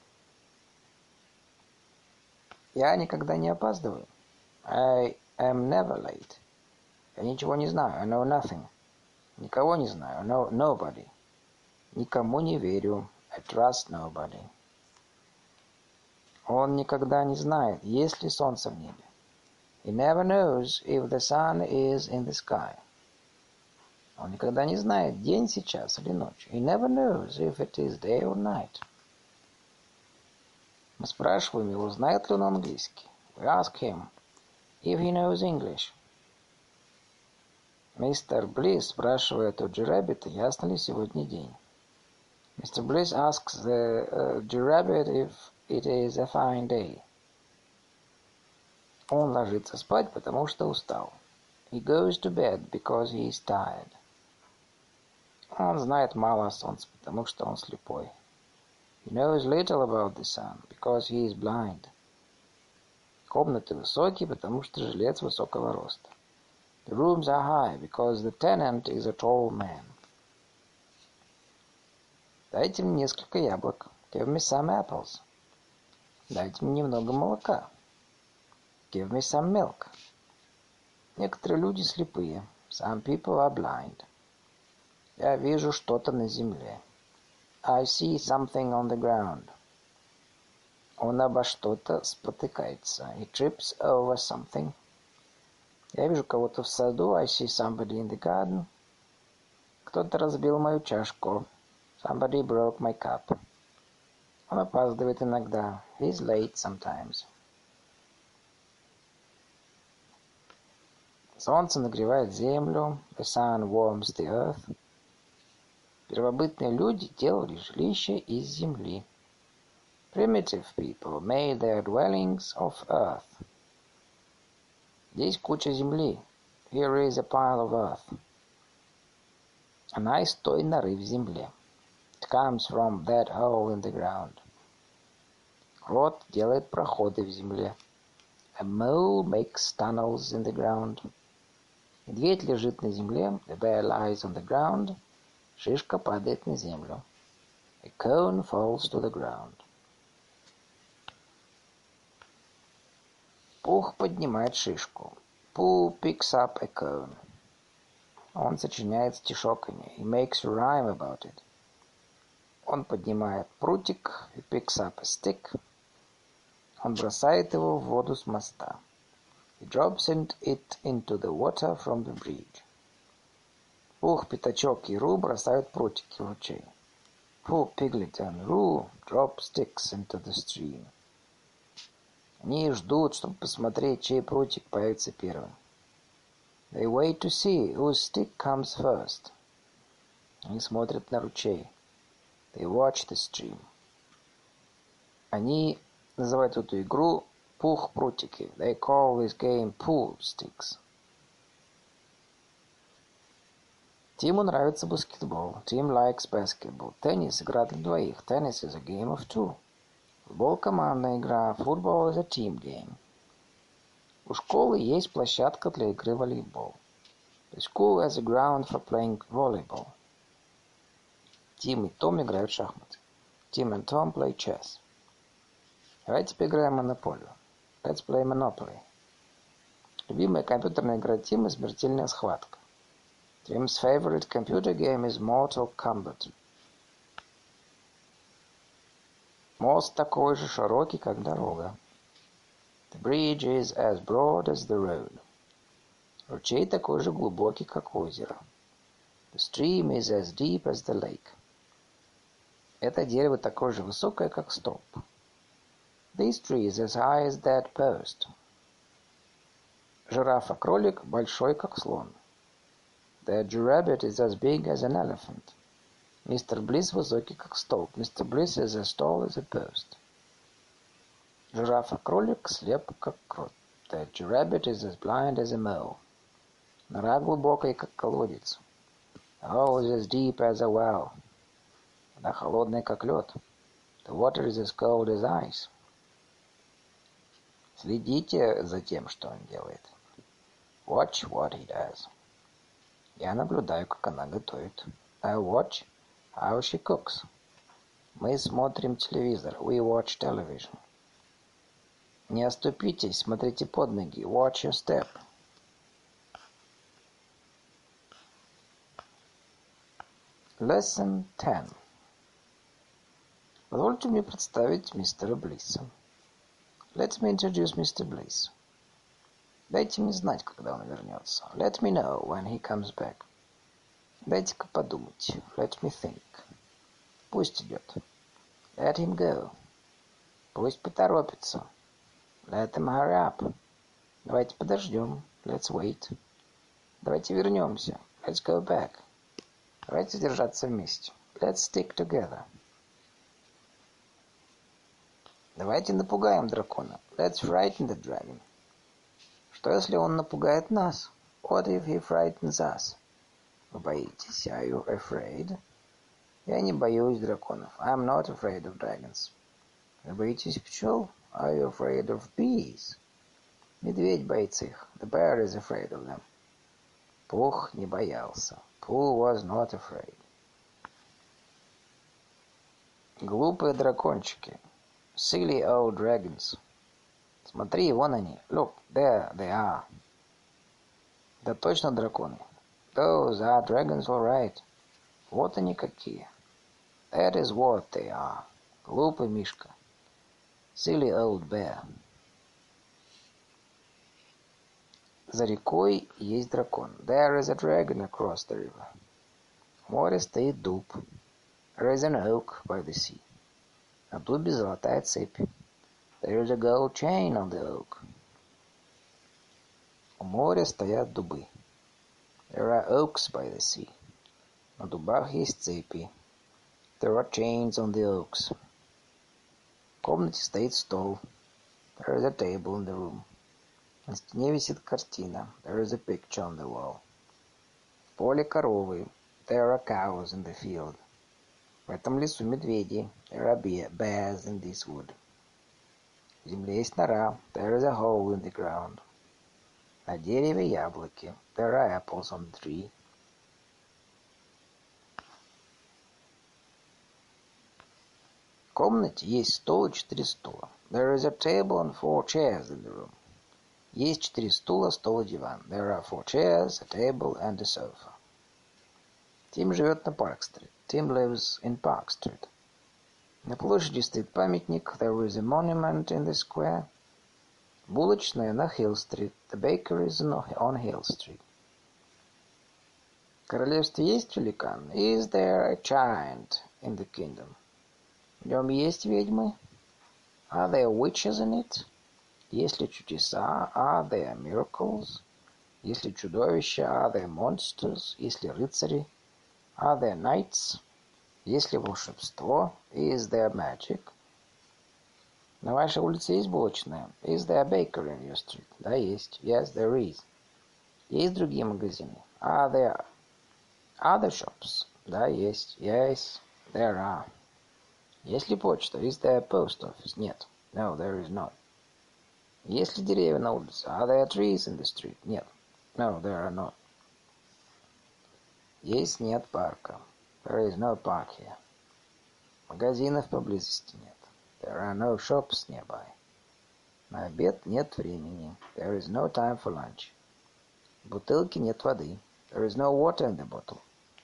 Я никогда не опаздываю. I am never late. Я ничего не знаю. I know nothing. Никого не знаю. I know nobody. Никому не верю. I trust nobody. Он никогда не знает, есть ли солнце в небе. He never knows if the sun is in the sky. Он никогда не знает, день сейчас или ночь. He never knows if it is day or night. Мы спрашиваем его, знает ли он английский. We ask him if he knows English. Мистер Близ спрашивает у Джи-Рэббита, ясно ли сегодня день. Мистер Близ asks the uh, Джи-Рэббит if it is a fine day. Он ложится спать, потому что устал. He goes to bed because he is tired. Он знает мало о солнце, потому что он слепой. He knows little about the sun because he is blind. Комнаты высокие, потому что жилец высокого роста. The rooms are high because the tenant is a tall man. Дайте мне несколько яблок. Give me some apples. Дайте мне немного молока. Give me some milk. Некоторые люди слепые. Some people are blind. Я вижу что-то на земле. I see something on the ground. Он обо что-то спотыкается. He trips over something. Я вижу кого-то в саду. I see somebody in the garden. Кто-то разбил мою чашку. Somebody broke my cup. Он опаздывает иногда. He's late sometimes. Солнце нагревает землю. The sun warms the earth. Первобытные люди делали жилища из земли. Primitive people made their dwellings of earth. Здесь куча земли. Here is a pile of earth. Она из той норы в земле. It comes from that hole in the ground. Крот делает проходы в земле. A mole makes tunnels in the ground. Медведь лежит на земле. The bear lies on the ground. Шишка падает на землю. A cone falls to the ground. Пух поднимает шишку. Pooh picks up a cone. Он сочиняет стишоками. He makes a rhyme about it. Он поднимает прутик. He picks up a stick. Он бросает его в воду с моста. He drops it into the water from the bridge. Пух, Пятачок и Ру бросают прутики в ручей. Pooh, Piglet and Roo drop sticks into the stream. Они ждут, чтобы посмотреть, чей прутик появится первым. They wait to see whose stick comes first. Они смотрят на ручей. They watch the stream. Они называют эту игру пух-прутики. They call this game pool sticks. Тиму нравится баскетбол. Tim likes basketball. Теннис — игра для двоих. Tennis is a game of two. Футбол — командная игра. Football is a team game. У школы есть площадка для игры в волейбол. The school has a ground for playing volleyball. Тим и Том играют в шахматы. Tim and Tom play chess. Давайте поиграем в монополию. Let's play Monopoly. Любимая компьютерная игра Тима — смертельная схватка. Tim's favorite computer game is Mortal Kombat. Мост такой же широкий, как дорога. The bridge is as broad as the road. Ручей такой же глубокий, как озеро. The stream is as deep as the lake. Это дерево такое же высокое, как столб. This tree is as high as that post. Жирафа-кролик большой, как слон. The giraffe is as big as an elephant. Мистер Блисс высокий, как столб. Мистер Блисс is as tall as a post. Жирафа-кролик слеп, как крот. The rabbit is as blind as a mole. Нора глубокая, как колодец. The hole is as deep as a well. Вода холодная, как лед. The water is as cold as ice. Следите за тем, что он делает. Watch what he does. Я наблюдаю, как она готовит. I watch how she cooks. Мы смотрим телевизор. We watch television. Не оступитесь, смотрите под ноги. Watch your step. Lesson ten. Позвольте мне представить мистера Блисса. Let me introduce Mister Bliss. Дайте мне знать, когда он вернется. Let me know when he comes back. Дайте-ка подумать. Let me think. Пусть идет. Let him go. Пусть поторопится. Let him hurry up. Давайте подождем. Let's wait. Давайте вернемся. Let's go back. Давайте держаться вместе. Let's stick together. Давайте напугаем дракона. Let's frighten the dragon. Что если он напугает нас? What if he frightens us? Вы боитесь? Are you afraid? Я не боюсь драконов. I'm not afraid of dragons. Вы боитесь пчел? Are you afraid of bees? Медведь боится их. The bear is afraid of them. Пух не боялся. Pooh was not afraid. Глупые дракончики. Silly old dragons. Смотри, вон они. Look, there they are. Да точно драконы. Those are dragons, all right. Вот они какие. That is what they are. Глупый мишка. Silly old bear. За рекой есть дракон. There is a dragon across the river. В море стоит дуб. There is an oak by the sea. На дубе золотая цепь. There is a gold chain on the oak. У моря стоят дубы. There are oaks by the sea. На дубах есть цепи. There are chains on the oaks. В комнате стоит стол. There is a table in the room. На стене висит картина. There is a picture on the wall. В поле коровы. There are cows in the field. В этом лесу медведи. There are bears in this wood. В земле есть нора. There is a hole in the ground. На дереве яблоки. There are apples on the tree. В комнате есть стол и четыре стула. There is a table and four chairs in the room. Есть четыре стула, стол и диван. There are four chairs, a table and a sofa. Тим живет на Парк-стрит. Tim lives in Park Street. На площади стоит памятник. There is a monument in the square. Булочная на Хилл-стрит. The bakery is on Hill Street. В королевстве есть великан? Is there a giant in the kingdom? В нем есть ведьмы? Are there witches in it? Есть ли чудеса? Are there miracles? Есть ли чудовища? Are there monsters? Есть ли рыцари? Are there knights? Есть ли волшебство? Is there magic? На вашей улице есть булочная? Is there a bakery in your street? Да, есть. Yes, there is. Есть другие магазины? Are there other shops? Да, есть. Yes, there are. Есть ли почта? Is there a post office? Нет. No, there is not. Есть ли деревья на улице? Are there trees in the street? Нет. No, there are not. Есть нет парка. There is no park here. Магазинов поблизости нет. There are no shops nearby. На обед нет времени. There is no time for lunch. В бутылке нет воды. There is no water in the bottle.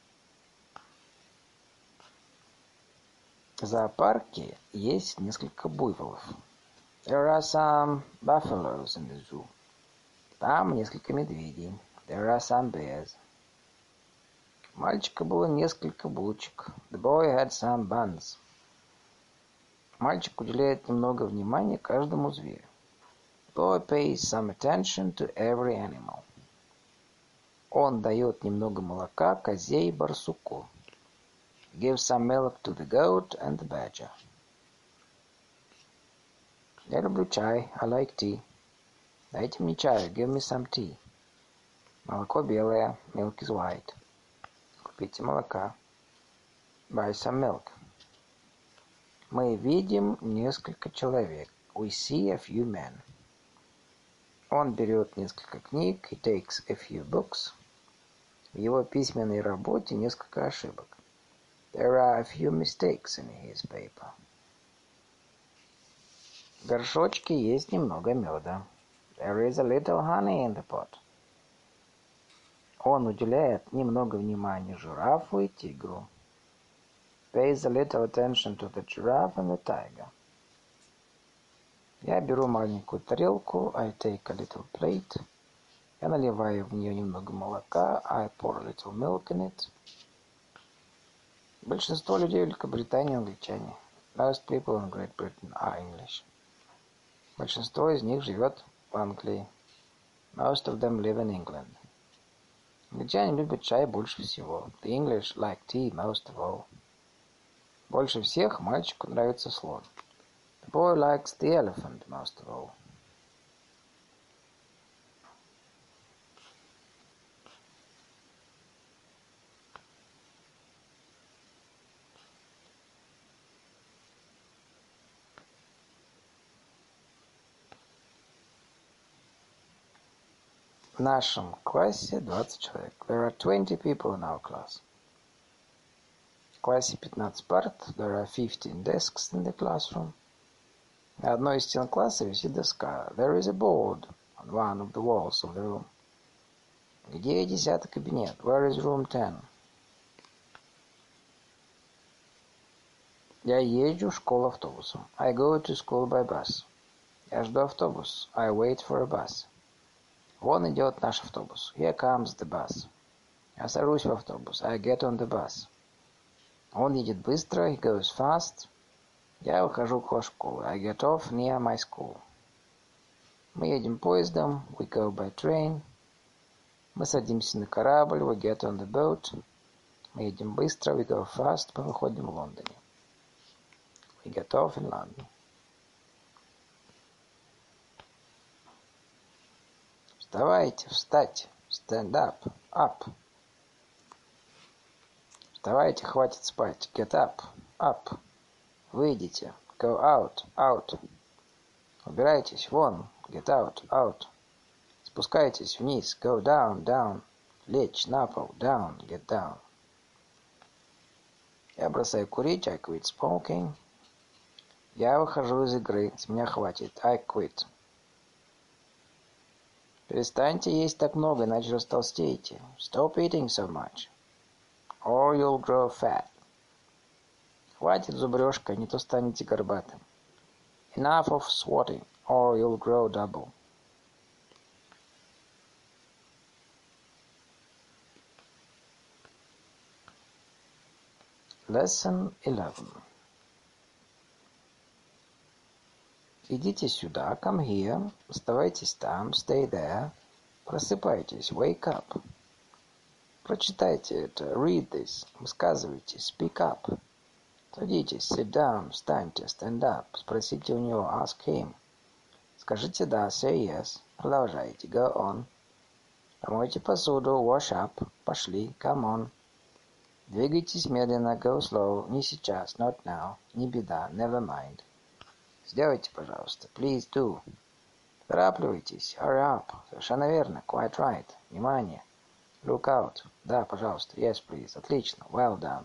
В зоопарке есть несколько буйволов. There are some buffaloes in the zoo. Там несколько медведей. There are some bears. У мальчика было несколько булочек. The boy had some buns. Мальчик уделяет немного внимания каждому зверю. The boy pays some attention to every animal. Он дает немного молока козе и барсуку. Give some milk to the goat and the badger. Я люблю чай. I like tea. Дайте мне чаю. Give me some tea. Молоко белое. Milk is white. Купите молока. Buy some milk. Мы видим несколько человек. We see a few men. Он берет несколько книг. He takes a few books. В его письменной работе несколько ошибок. There are a few mistakes in his paper. В горшочке есть немного меда. There is a little honey in the pot. Он уделяет немного внимания жирафу и тигру. Pays a little attention to the giraffe and the tiger. Я беру маленькую тарелку. I take a little plate. Я наливаю в нее немного молока. I pour a little milk in it. Большинство людей в Великобритании англичане. Most people in Great Britain are English. Большинство из них живет в Англии. Most of them live in England. Англичане любят чай больше всего. The English like tea most of all. Больше всех мальчику нравится слон. The boy likes the elephant most of all. В нашем классе двадцать человек. There are twenty people in our class. В классе пятнадцать парт. There are fifteen desks in the classroom. На одной из стен класса висит доска. There is a board on one of the walls of the room. Где десятый кабинет? Where is room ten? Я езжу в школу автобусом. I go to school by bus. Я жду автобус. I wait for a bus. Вон идет наш автобус. Here comes the bus. Я сажусь в автобус. I get on the bus. Он едет быстро. He goes fast. Я выхожу около школы. I get off near my school. Мы едем поездом. We go by train. Мы садимся на корабль. We get on the boat. Мы едем быстро. We go fast. Мы выходим в Лондоне. We get off in London. Вставайте, встать. Stand up, up. Вставайте, хватит спать. Get up, up. Выйдите. Go out, out. Убирайтесь, вон. Get out, out. Спускайтесь вниз. Go down, down. Лечь на пол. Down, get down. Я бросаю курить. I quit smoking. Я выхожу из игры. С меня хватит. I quit. Перестаньте есть так много, иначе растолстеете. Stop eating so much, or you'll grow fat. Хватит зубрежка, не то станете горбатым. Enough of swatting, or you'll grow double. Lesson eleven. Идите сюда, come here. Оставайтесь там, stay there. Просыпайтесь, wake up. Прочитайте это, read this. Высказывайте, speak up. Садитесь, sit down, встаньте, stand up. Спросите у него, ask him. Скажите да, say yes. Продолжайте, go on. Помойте посуду, wash up. Пошли, come on. Двигайтесь медленно, go slow. Не сейчас, not now. Не беда, never mind. Сделайте, пожалуйста. Please do. Торопливайтесь. Hurry up. Совершенно верно. Quite right. Внимание. Look out. Да, пожалуйста. Yes, please. Отлично. Well done.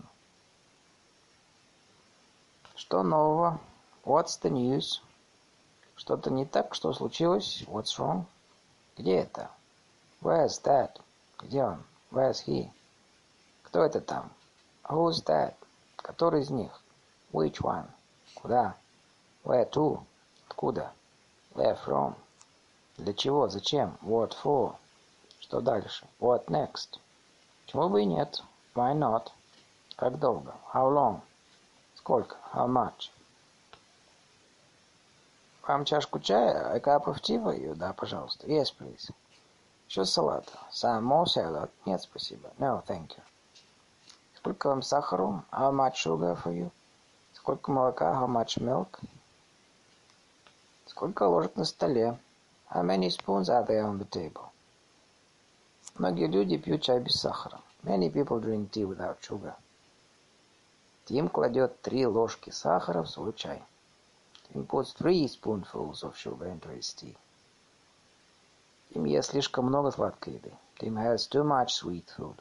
Что нового? What's the news? Что-то не так? Что случилось? What's wrong? Где это? Where's that? Где он? Where's he? Кто это там? Who's that? Который из них? Which one? Куда? Where to? Откуда? Where from? Для чего? Зачем? What for? Что дальше? What next? Почему бы и нет? Why not? Как долго? How long? Сколько? How much? Вам чашку чая? A cup of tea for you? Да, пожалуйста. Yes, please. Еще салата. Some more salad? Нет, спасибо. No, thank you. Сколько вам сахару? How much sugar for you? Сколько молока? How much milk? Сколько ложек на столе? How many spoons are there on the table? Многие люди пьют чай без сахара. Many people drink tea without sugar. Тим кладет три ложки сахара в свой чай. Tim puts three spoonfuls of sugar into his tea. Тим ест слишком много сладкой еды. Tim has too much sweet food.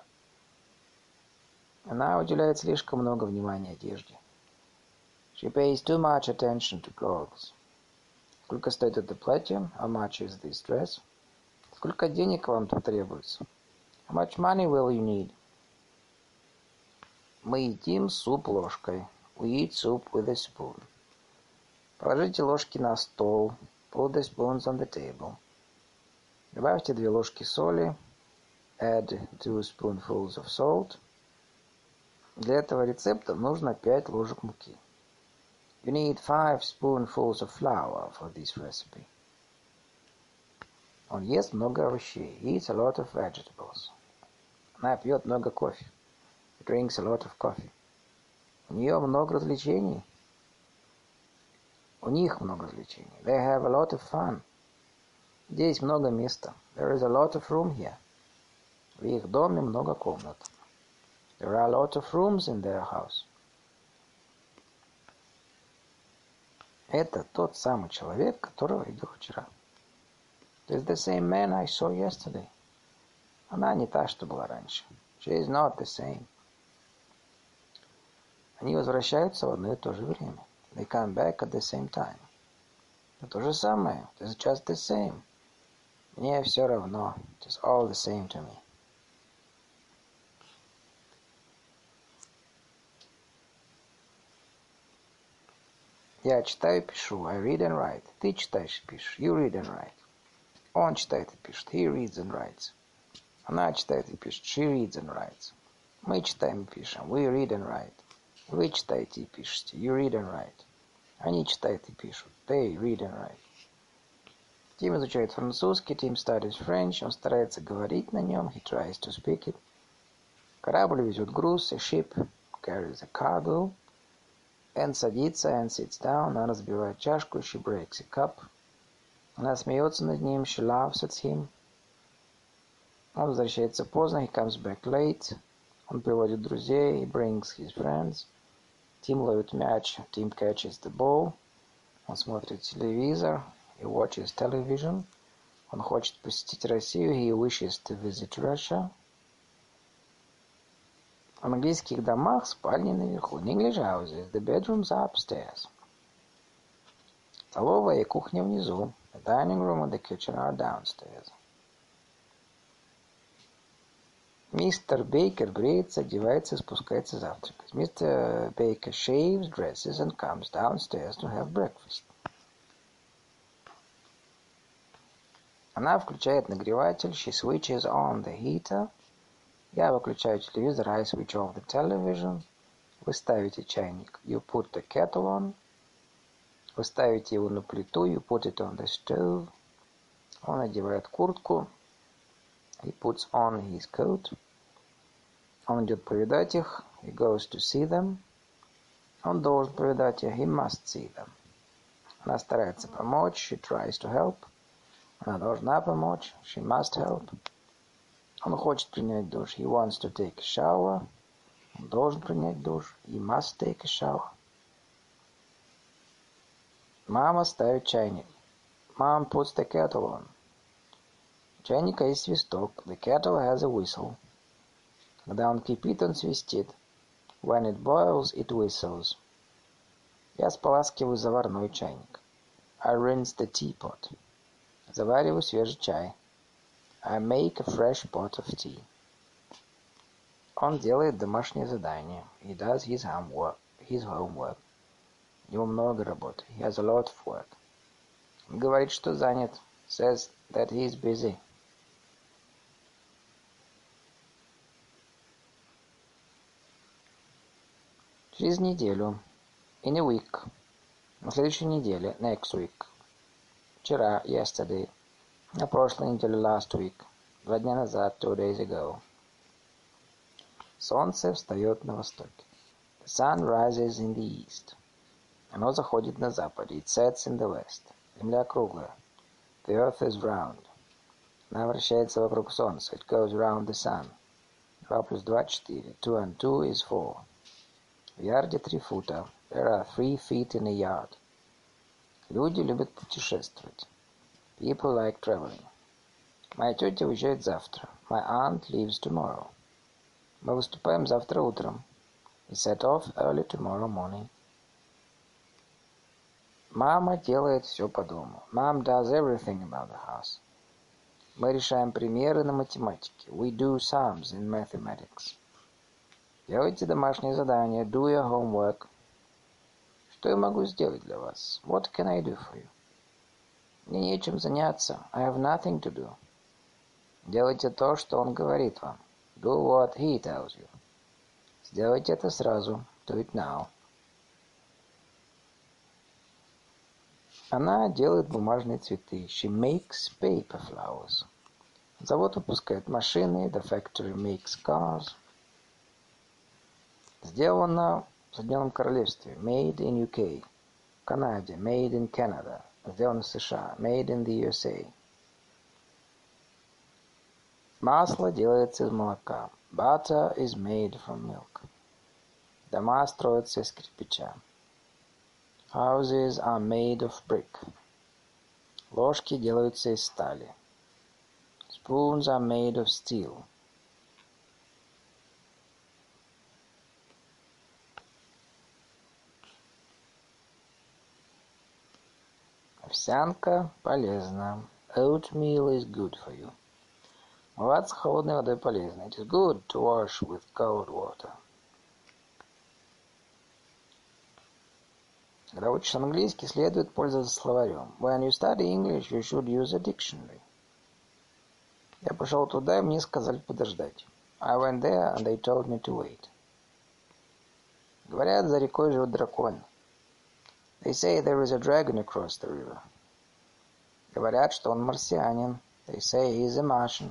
Она уделяет слишком много внимания одежде. She pays too much attention to clothes. Сколько стоит это платье? How much is this dress? Сколько денег вам потребуется? How much money will you need? Мы едим суп ложкой. We eat soup with a spoon. Положите ложки на стол. Put the spoons on the table. Добавьте две ложки соли. Add two spoonfuls of salt. Для этого рецепта нужно пять ложек муки. You need five spoonfuls of flour for this recipe. Он ест много овощей. He eats a lot of vegetables. Она пьет много кофе. He drinks a lot of coffee. У нее много развлечений. У них много развлечений. They have a lot of fun. Здесь много места. There is a lot of room here. В их доме много комнат. There are a lot of rooms in their house. Это тот самый человек, которого видел вчера. This is the same man I saw yesterday. Она не та, что была раньше. She is not the same. Они возвращаются в одно и то же время. They come back at the same time. Это то же самое. It is just the same. Мне все равно. It is all the same to me. Я читаю и пишу. I read and write. Ты читаешь и пишешь. You read and write. Он читает и пишет. He reads and writes. Она читает и пишет. She reads and writes. Мы читаем и пишем. We read and write. Вы читаете и пишете. You read and write. Они читают и пишут. They read and write. Тим изучает французский. Tim studies French. Он старается говорить на нем. He tries to speak it. Корабль везет груз. A ship carries a cargo. Энн садится. Anne sits down. Она разбивает чашку. She breaks a cup. Она смеется над ним. She laughs at him. Он возвращается поздно. He comes back late. Он приводит друзей. He brings his friends. Тим ловит мяч. Tim catches the ball. Он смотрит телевизор. He watches television. Он хочет посетить Россию. He wishes to visit Russia. В английских домах спальни наверху. In English houses, the bedrooms are upstairs. Столовая и кухня внизу. The dining room and the kitchen are downstairs. Мистер Бейкер бреется, одевается и спускается завтракать. Мистер Бейкер shaves, dresses and comes downstairs to have breakfast. Она включает нагреватель. She switches on the heater. Я выключаю телевизор. I switch off the television. Вы ставите чайник. You put the kettle on. Вы ставите его на плиту. You put it on the stove. Он одевает куртку. He puts on his coat. Он идет повидать их. He goes to see them. Он должен повидать их. He must see them. Она старается помочь. She tries to help. Она должна помочь. She must help. Он хочет принять душ. He wants to take a shower. Он должен принять душ. He must take a shower. Мама ставит чайник. Mom puts the kettle on. У чайника есть свисток. The kettle has a whistle. Когда он кипит, он свистит. When it boils, it whistles. Я споласкиваю заварной чайник. I rinse the teapot. Завариваю свежий чай. I make a fresh pot of tea. Он делает домашнее задание. He does his homework. His homework. У него много работы. He has a lot of work. Он говорит, что занят. Says that he is busy. Через неделю. In a week. На следующей неделе. Next week. Вчера. Yesterday. На прошлой неделе. Last week. Два дня назад. Two days ago. Солнце встает на востоке. The sun rises in the east. Оно заходит на западе. It sets in the west. Земля круглая. The earth is round. Она вращается вокруг солнца. It goes around the sun. Два плюс два — четыре. Two and two is four. В ярде три фута. There are three feet in a yard. Люди любят путешествовать. People like traveling. Моя тетя уезжает завтра. My aunt leaves tomorrow. Мы выступаем завтра утром. We set off early tomorrow morning. Мама делает все по дому. Mom does everything about the house. Мы решаем примеры на математике. We do sums in mathematics. Делайте домашнее задание. Do your homework. Что я могу сделать для вас? What can I do for you? Мне нечем заняться. I have nothing to do. Делайте то, что он говорит вам. Do what he tells you. Сделайте это сразу. Do it now. Она делает бумажные цветы. She makes paper flowers. Завод выпускает машины. The factory makes cars. Сделано в Соединенном Королевстве. Made in ю кей. В Канаде. Made in Canada. Сделано в США. Made in the ю эс эй. Масло делается из молока. Butter is made from milk. Дома строятся из кирпича. Houses are made of brick. Ложки делаются из стали. Spoons are made of steel. Овсянка полезна. Oatmeal is good for you. Умываться холодной водой полезно. It is good to wash with cold water. Когда учишь английский, следует пользоваться словарем. When you study English, you should use a dictionary. Я пошел туда, и мне сказали подождать. I went there, and they told me to wait. Говорят, за рекой живет дракон. They say there is a dragon across the river. Говорят, что он марсианин. They say he is a Martian.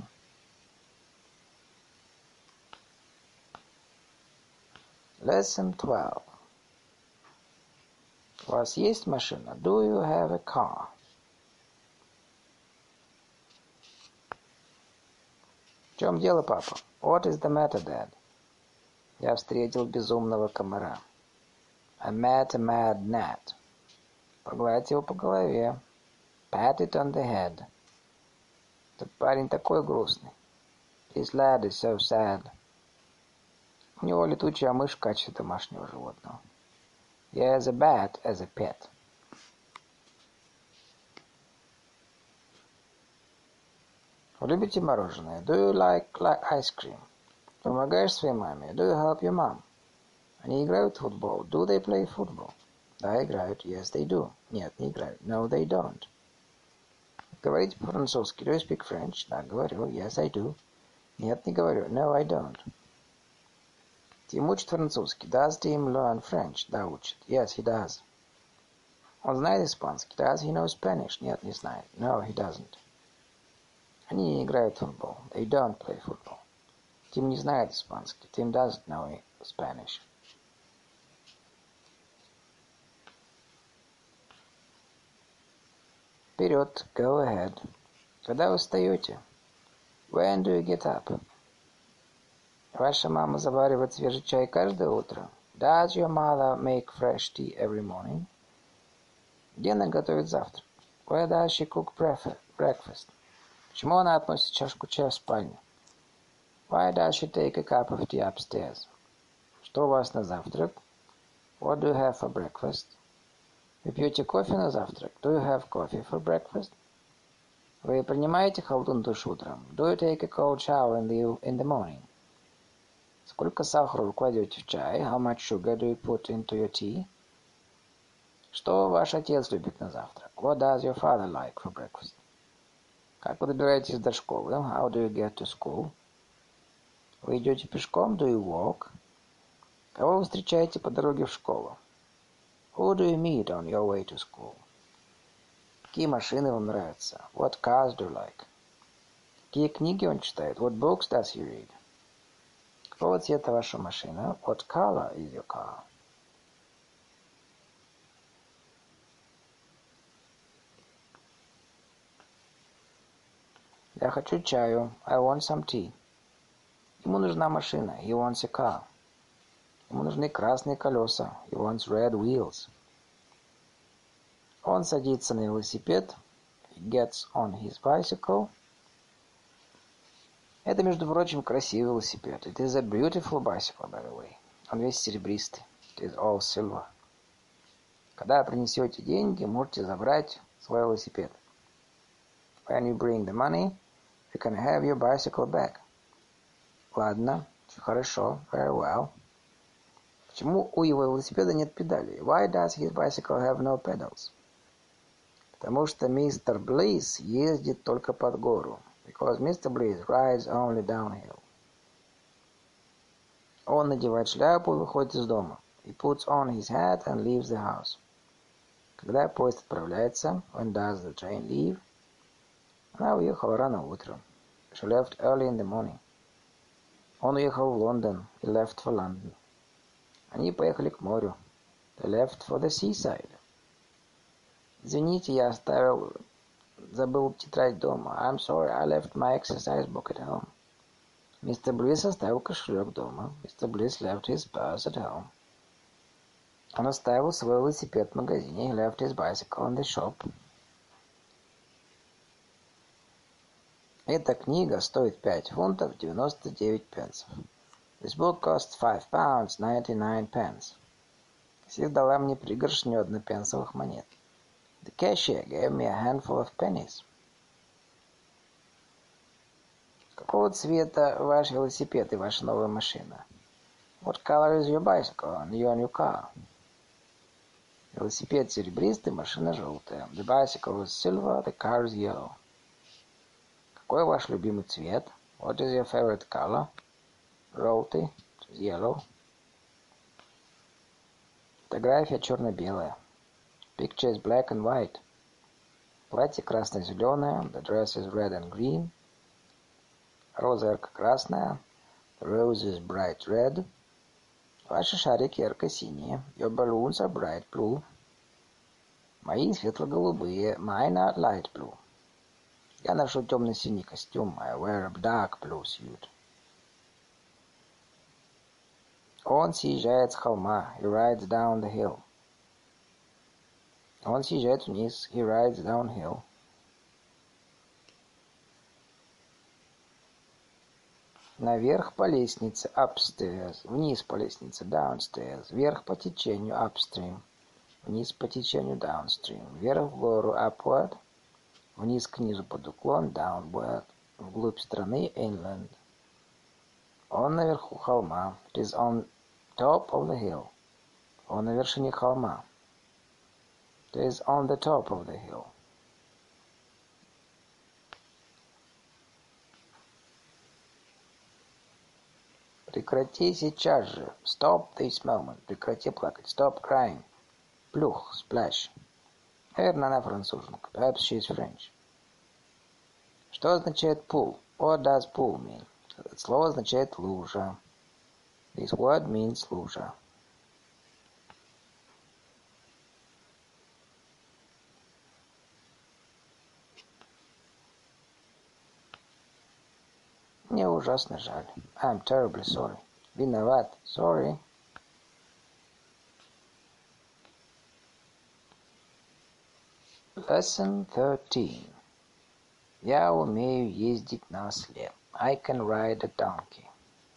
Lesson twelve. У вас есть машина? Do you have a car? В чем дело, папа? What is the matter, Dad? Я встретил безумного комара. I met a mad gnat. Погладь его по голове. Pat it on the head. Этот парень такой грустный. This lad is so sad. У него летучая мышь в качестве домашнего животного. He has a bat as a pet. Вы любите мороженое? Do you like ice cream? Помогаешь своей маме? Do you help your mom? Они играют в футбол? Do they play football? Да, играют. Yes, they do. Нет, не играют. No, they don't. Говорите по-французски? Do you speak French? Да, говорю. Yes, I do. Нет, не говорю. No, I don't. Тим учит французский. Does Tim learn French? Да, учит. Yes, he does. Он знает испанский. Does he know Spanish? Нет, не знает. No, he doesn't. Они не играют в футбол. They don't play football. Тим не знает испанский. Tim doesn't know Spanish. Вперед. Go ahead. Когда вы встаете? When do you get up? Ваша мама заваривает свежий чай каждое утро? Does your mother make fresh tea every morning? Где она готовит завтрак? Where does she cook breakfast? Почему она относит чашку чая в спальню? Why does she take a cup of tea upstairs? Что у вас на завтрак? What do you have for breakfast? Вы пьете кофе на завтрак? Do you have coffee for breakfast? Вы принимаете холодный душ утром? Do you take a cold shower in the, in the morning? Сколько сахара вы кладете в чай? How much sugar do you put into your tea? Что ваш отец любит на завтрак? What does your father like for breakfast? Как вы добираетесь до школы? How do you get to school? Вы идете пешком? Do you walk? Кого вы встречаете по дороге в школу? Who do you meet on your way to school? Какие машины вам нравятся? What cars do you like? Какие книги он читает? What books does he read? Какого цвета ваша машина? What color is your car? Я хочу чаю. I want some tea. Ему нужна машина. He wants a car. Ему нужны красные колеса. He wants red wheels. Он садится на велосипед. He gets on his bicycle. Это, между прочим, красивый велосипед. It is a beautiful bicycle, by the way. Он весь серебристый. It is all silver. Когда принесете деньги, можете забрать свой велосипед. When you bring the money, you can have your bicycle back. Ладно, хорошо, very well. Почему у его велосипеда нет педалей? Why does his bicycle have no pedals? Потому что мистер Близ ездит только под гору. Because Mister Bliss rides only downhill. Он надевает шляпу и выходит из дома. He puts on his hat and leaves the house. Когда поезд отправляется, when does the train leave? Она уехала рано утром. She left early in the morning. Он уехал в Лондон. He left for London. Они поехали к морю. They left for the seaside. Извините, я оставил, забыл тетрадь дома. I'm sorry, I left my exercise book at home. Мистер Блисс оставил кошелек дома. Mister Bliss left his purse at home. Он оставил свой велосипед в магазине. He left his bicycle in the shop. Эта книга стоит пять фунтов девяносто девять пенсов. This book costs five pounds ninety-nine pence. Кассир дала мне пригоршню однопенсовых монет. The cashier gave me a handful of pennies. Какого цвета ваш велосипед и ваша новая машина? What color is your bicycle and your new car? Велосипед серебристый, машина желтая. The bicycle is silver, the car is yellow. Какой ваш любимый цвет? What is your favorite color? Желтый, yellow. Фотография черно-белая. Picture is black and white. Платье красно-зеленое. The dress is red and green. Роза ярко-красная. The rose is bright red. Ваши шарики ярко-синие. Your balloons are bright blue. Мои светло-голубые. Mine are light blue. Я ношу темно-синий костюм. I wear a dark blue suit. Он съезжает с холма. He rides down the hill. Он съезжает вниз. He rides downhill. Наверх по лестнице. Upstairs. Вниз по лестнице. Downstairs. Вверх по течению. Upstream. Вниз по течению. Downstream. Вверх в гору. Upward. Вниз к низу под уклон. Downward. Вглубь страны. Inland. Он наверху холма. It is on top of the hill. Он на вершине холма. It is on the top of the hill. Прекрати сейчас же. Stop this moment. Прекрати плакать. Stop crying. Плюх. Splash. Наверное, она француженка. Perhaps she is French. Что означает pool? What does pool mean? Это слово означает лужа. This word means лужа. Мне ужасно жаль. I'm terribly sorry. Виноват. Sorry. Lesson thirteen. Я умею ездить на осле. I can ride a donkey.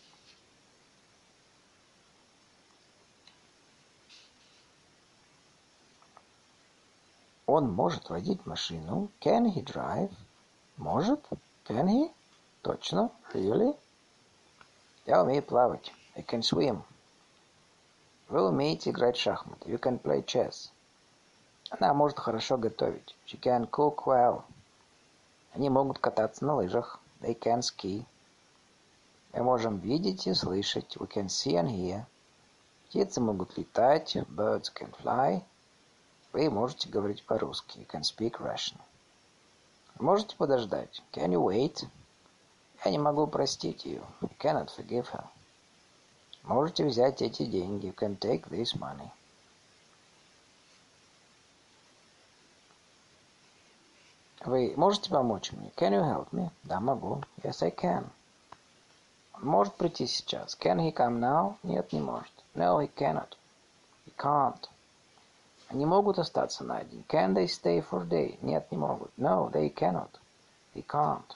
Он может водить машину. Can he drive? Может? Can he? Точно? Really? Я умею плавать. I can swim. Вы умеете играть в шахматы. You can play chess. Она может хорошо готовить. She can cook well. Они могут кататься на лыжах. They can ski. Мы можем видеть и слышать. We can see and hear. Птицы могут летать. Birds can fly. Вы можете говорить по-русски. You can speak Russian. Можете подождать. Can you wait? Я не могу простить ее. I cannot forgive her. Можете взять эти деньги. You can take this money. Вы можете помочь мне? Can you help me? Да, могу. Yes, I can. Он может прийти сейчас? Can he come now? Нет, не может. No, he cannot. He can't. Они могут остаться на день? Can they stay for a day? Нет, не могут. No, they cannot. They can't.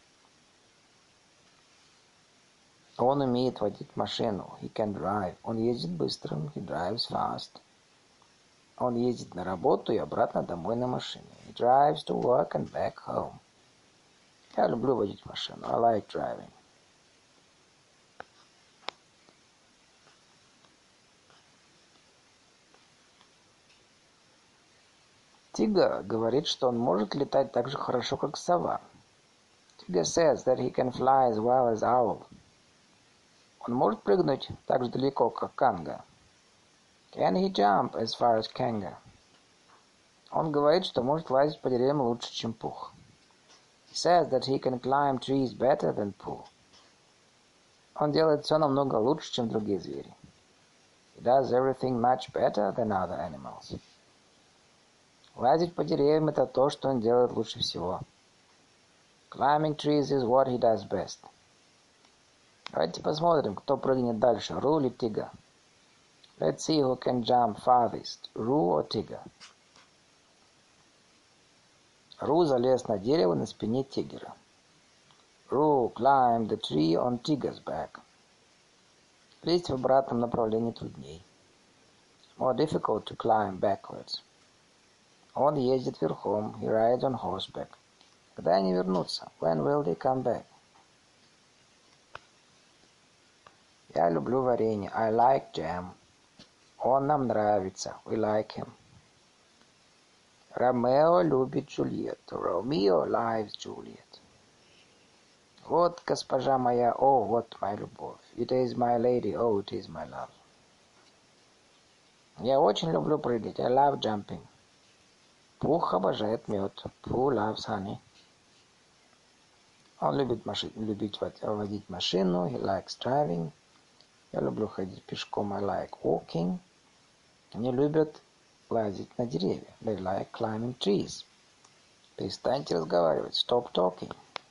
Он умеет водить машину. He can drive. Он ездит быстро. He drives fast. Он ездит на работу и обратно домой на машине. He drives to work and back home. Я люблю водить машину. I like driving. Тига говорит, что он может летать так же хорошо, как сова. Tiger says that he can fly as well as owl. Он может прыгнуть так же далеко, как канга. Can he jump as far as Kanga? Он говорит, что может лазить по деревьям лучше, чем Пух. He says that he can climb trees better than Pooh. Он делает все намного лучше, чем другие звери. He does everything much better than other animals. Лазить по деревьям – это то, что он делает лучше всего. Climbing trees is what he does best. Давайте посмотрим, кто прыгнет дальше, Ру или Тига. Let's see who can jump farthest, Ру or Тига. Ру залез на дерево на спине тигра. Ру climbed the tree on Tiger's back. Лезть в обратном направлении трудней. More difficult to climb backwards. Он ездит верхом. He rides on horseback. Когда они вернутся? When will they come back? Я люблю варенье. I like jam. Он нам нравится. We like him. Ромео любит Джульетту. Romeo likes Juliet. Вот госпожа моя, о, вот моя любовь. It is my lady, oh, it is my love. Я очень люблю прыгать. I love jumping. Пух обожает мед. Pooh loves honey. Он любит маши... любить водить машину. He likes driving. Я люблю ходить пешком. I like walking. Они любят лазить на деревья. They like climbing trees. Перестаньте разговаривать. Stop talking.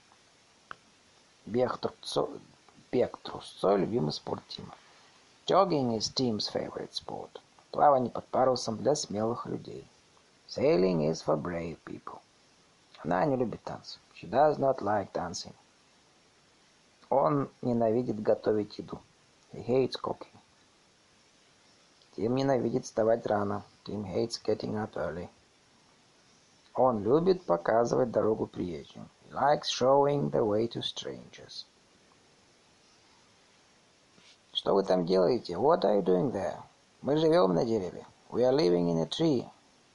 Бег трусцой, бег трусцой – любимый спорт Тима. Jogging is Tim's favorite sport. Плавание под парусом для смелых людей. Sailing is for brave people. Она не любит танцы. She does not like dancing. Он ненавидит готовить еду. He hates cooking. Тим ненавидит вставать рано. Tim hates getting up early. Он любит показывать дорогу приезжим. He likes showing the way to strangers. Что вы там делаете? What are you doing there? Мы живем на дереве. We are living in a tree.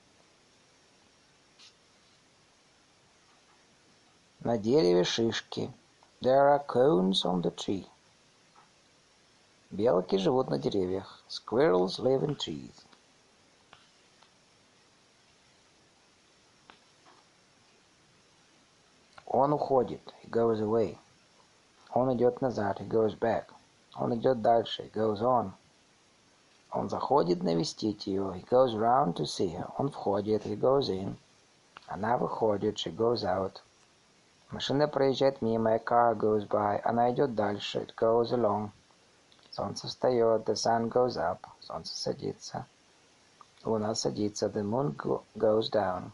На дереве шишки. There are cones on the tree. Белки живут на деревьях. Squirrels live in trees. Он уходит. He goes away. Он идет назад. He goes back. Он идет дальше. He goes on. Он заходит навестить ее. He goes round to see her. Он входит. He goes in. Она выходит. She goes out. Машина проезжает мимо. A car goes by. Она идет дальше. It goes along. Солнце встает. The sun goes up. Солнце садится. Луна садится. The moon go- goes down.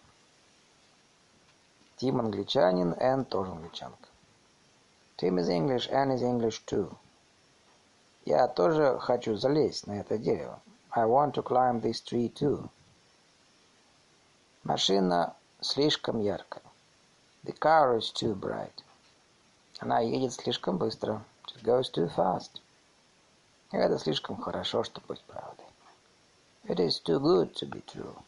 Тим англичанин, Энн тоже англичанка. Tim is English, Anne is English too. Я тоже хочу залезть на это дерево. I want to climb this tree too. Машина слишком яркая. The car is too bright. Она едет слишком быстро. She goes too fast. Это слишком хорошо, чтобы быть правдой. It is too good to be true.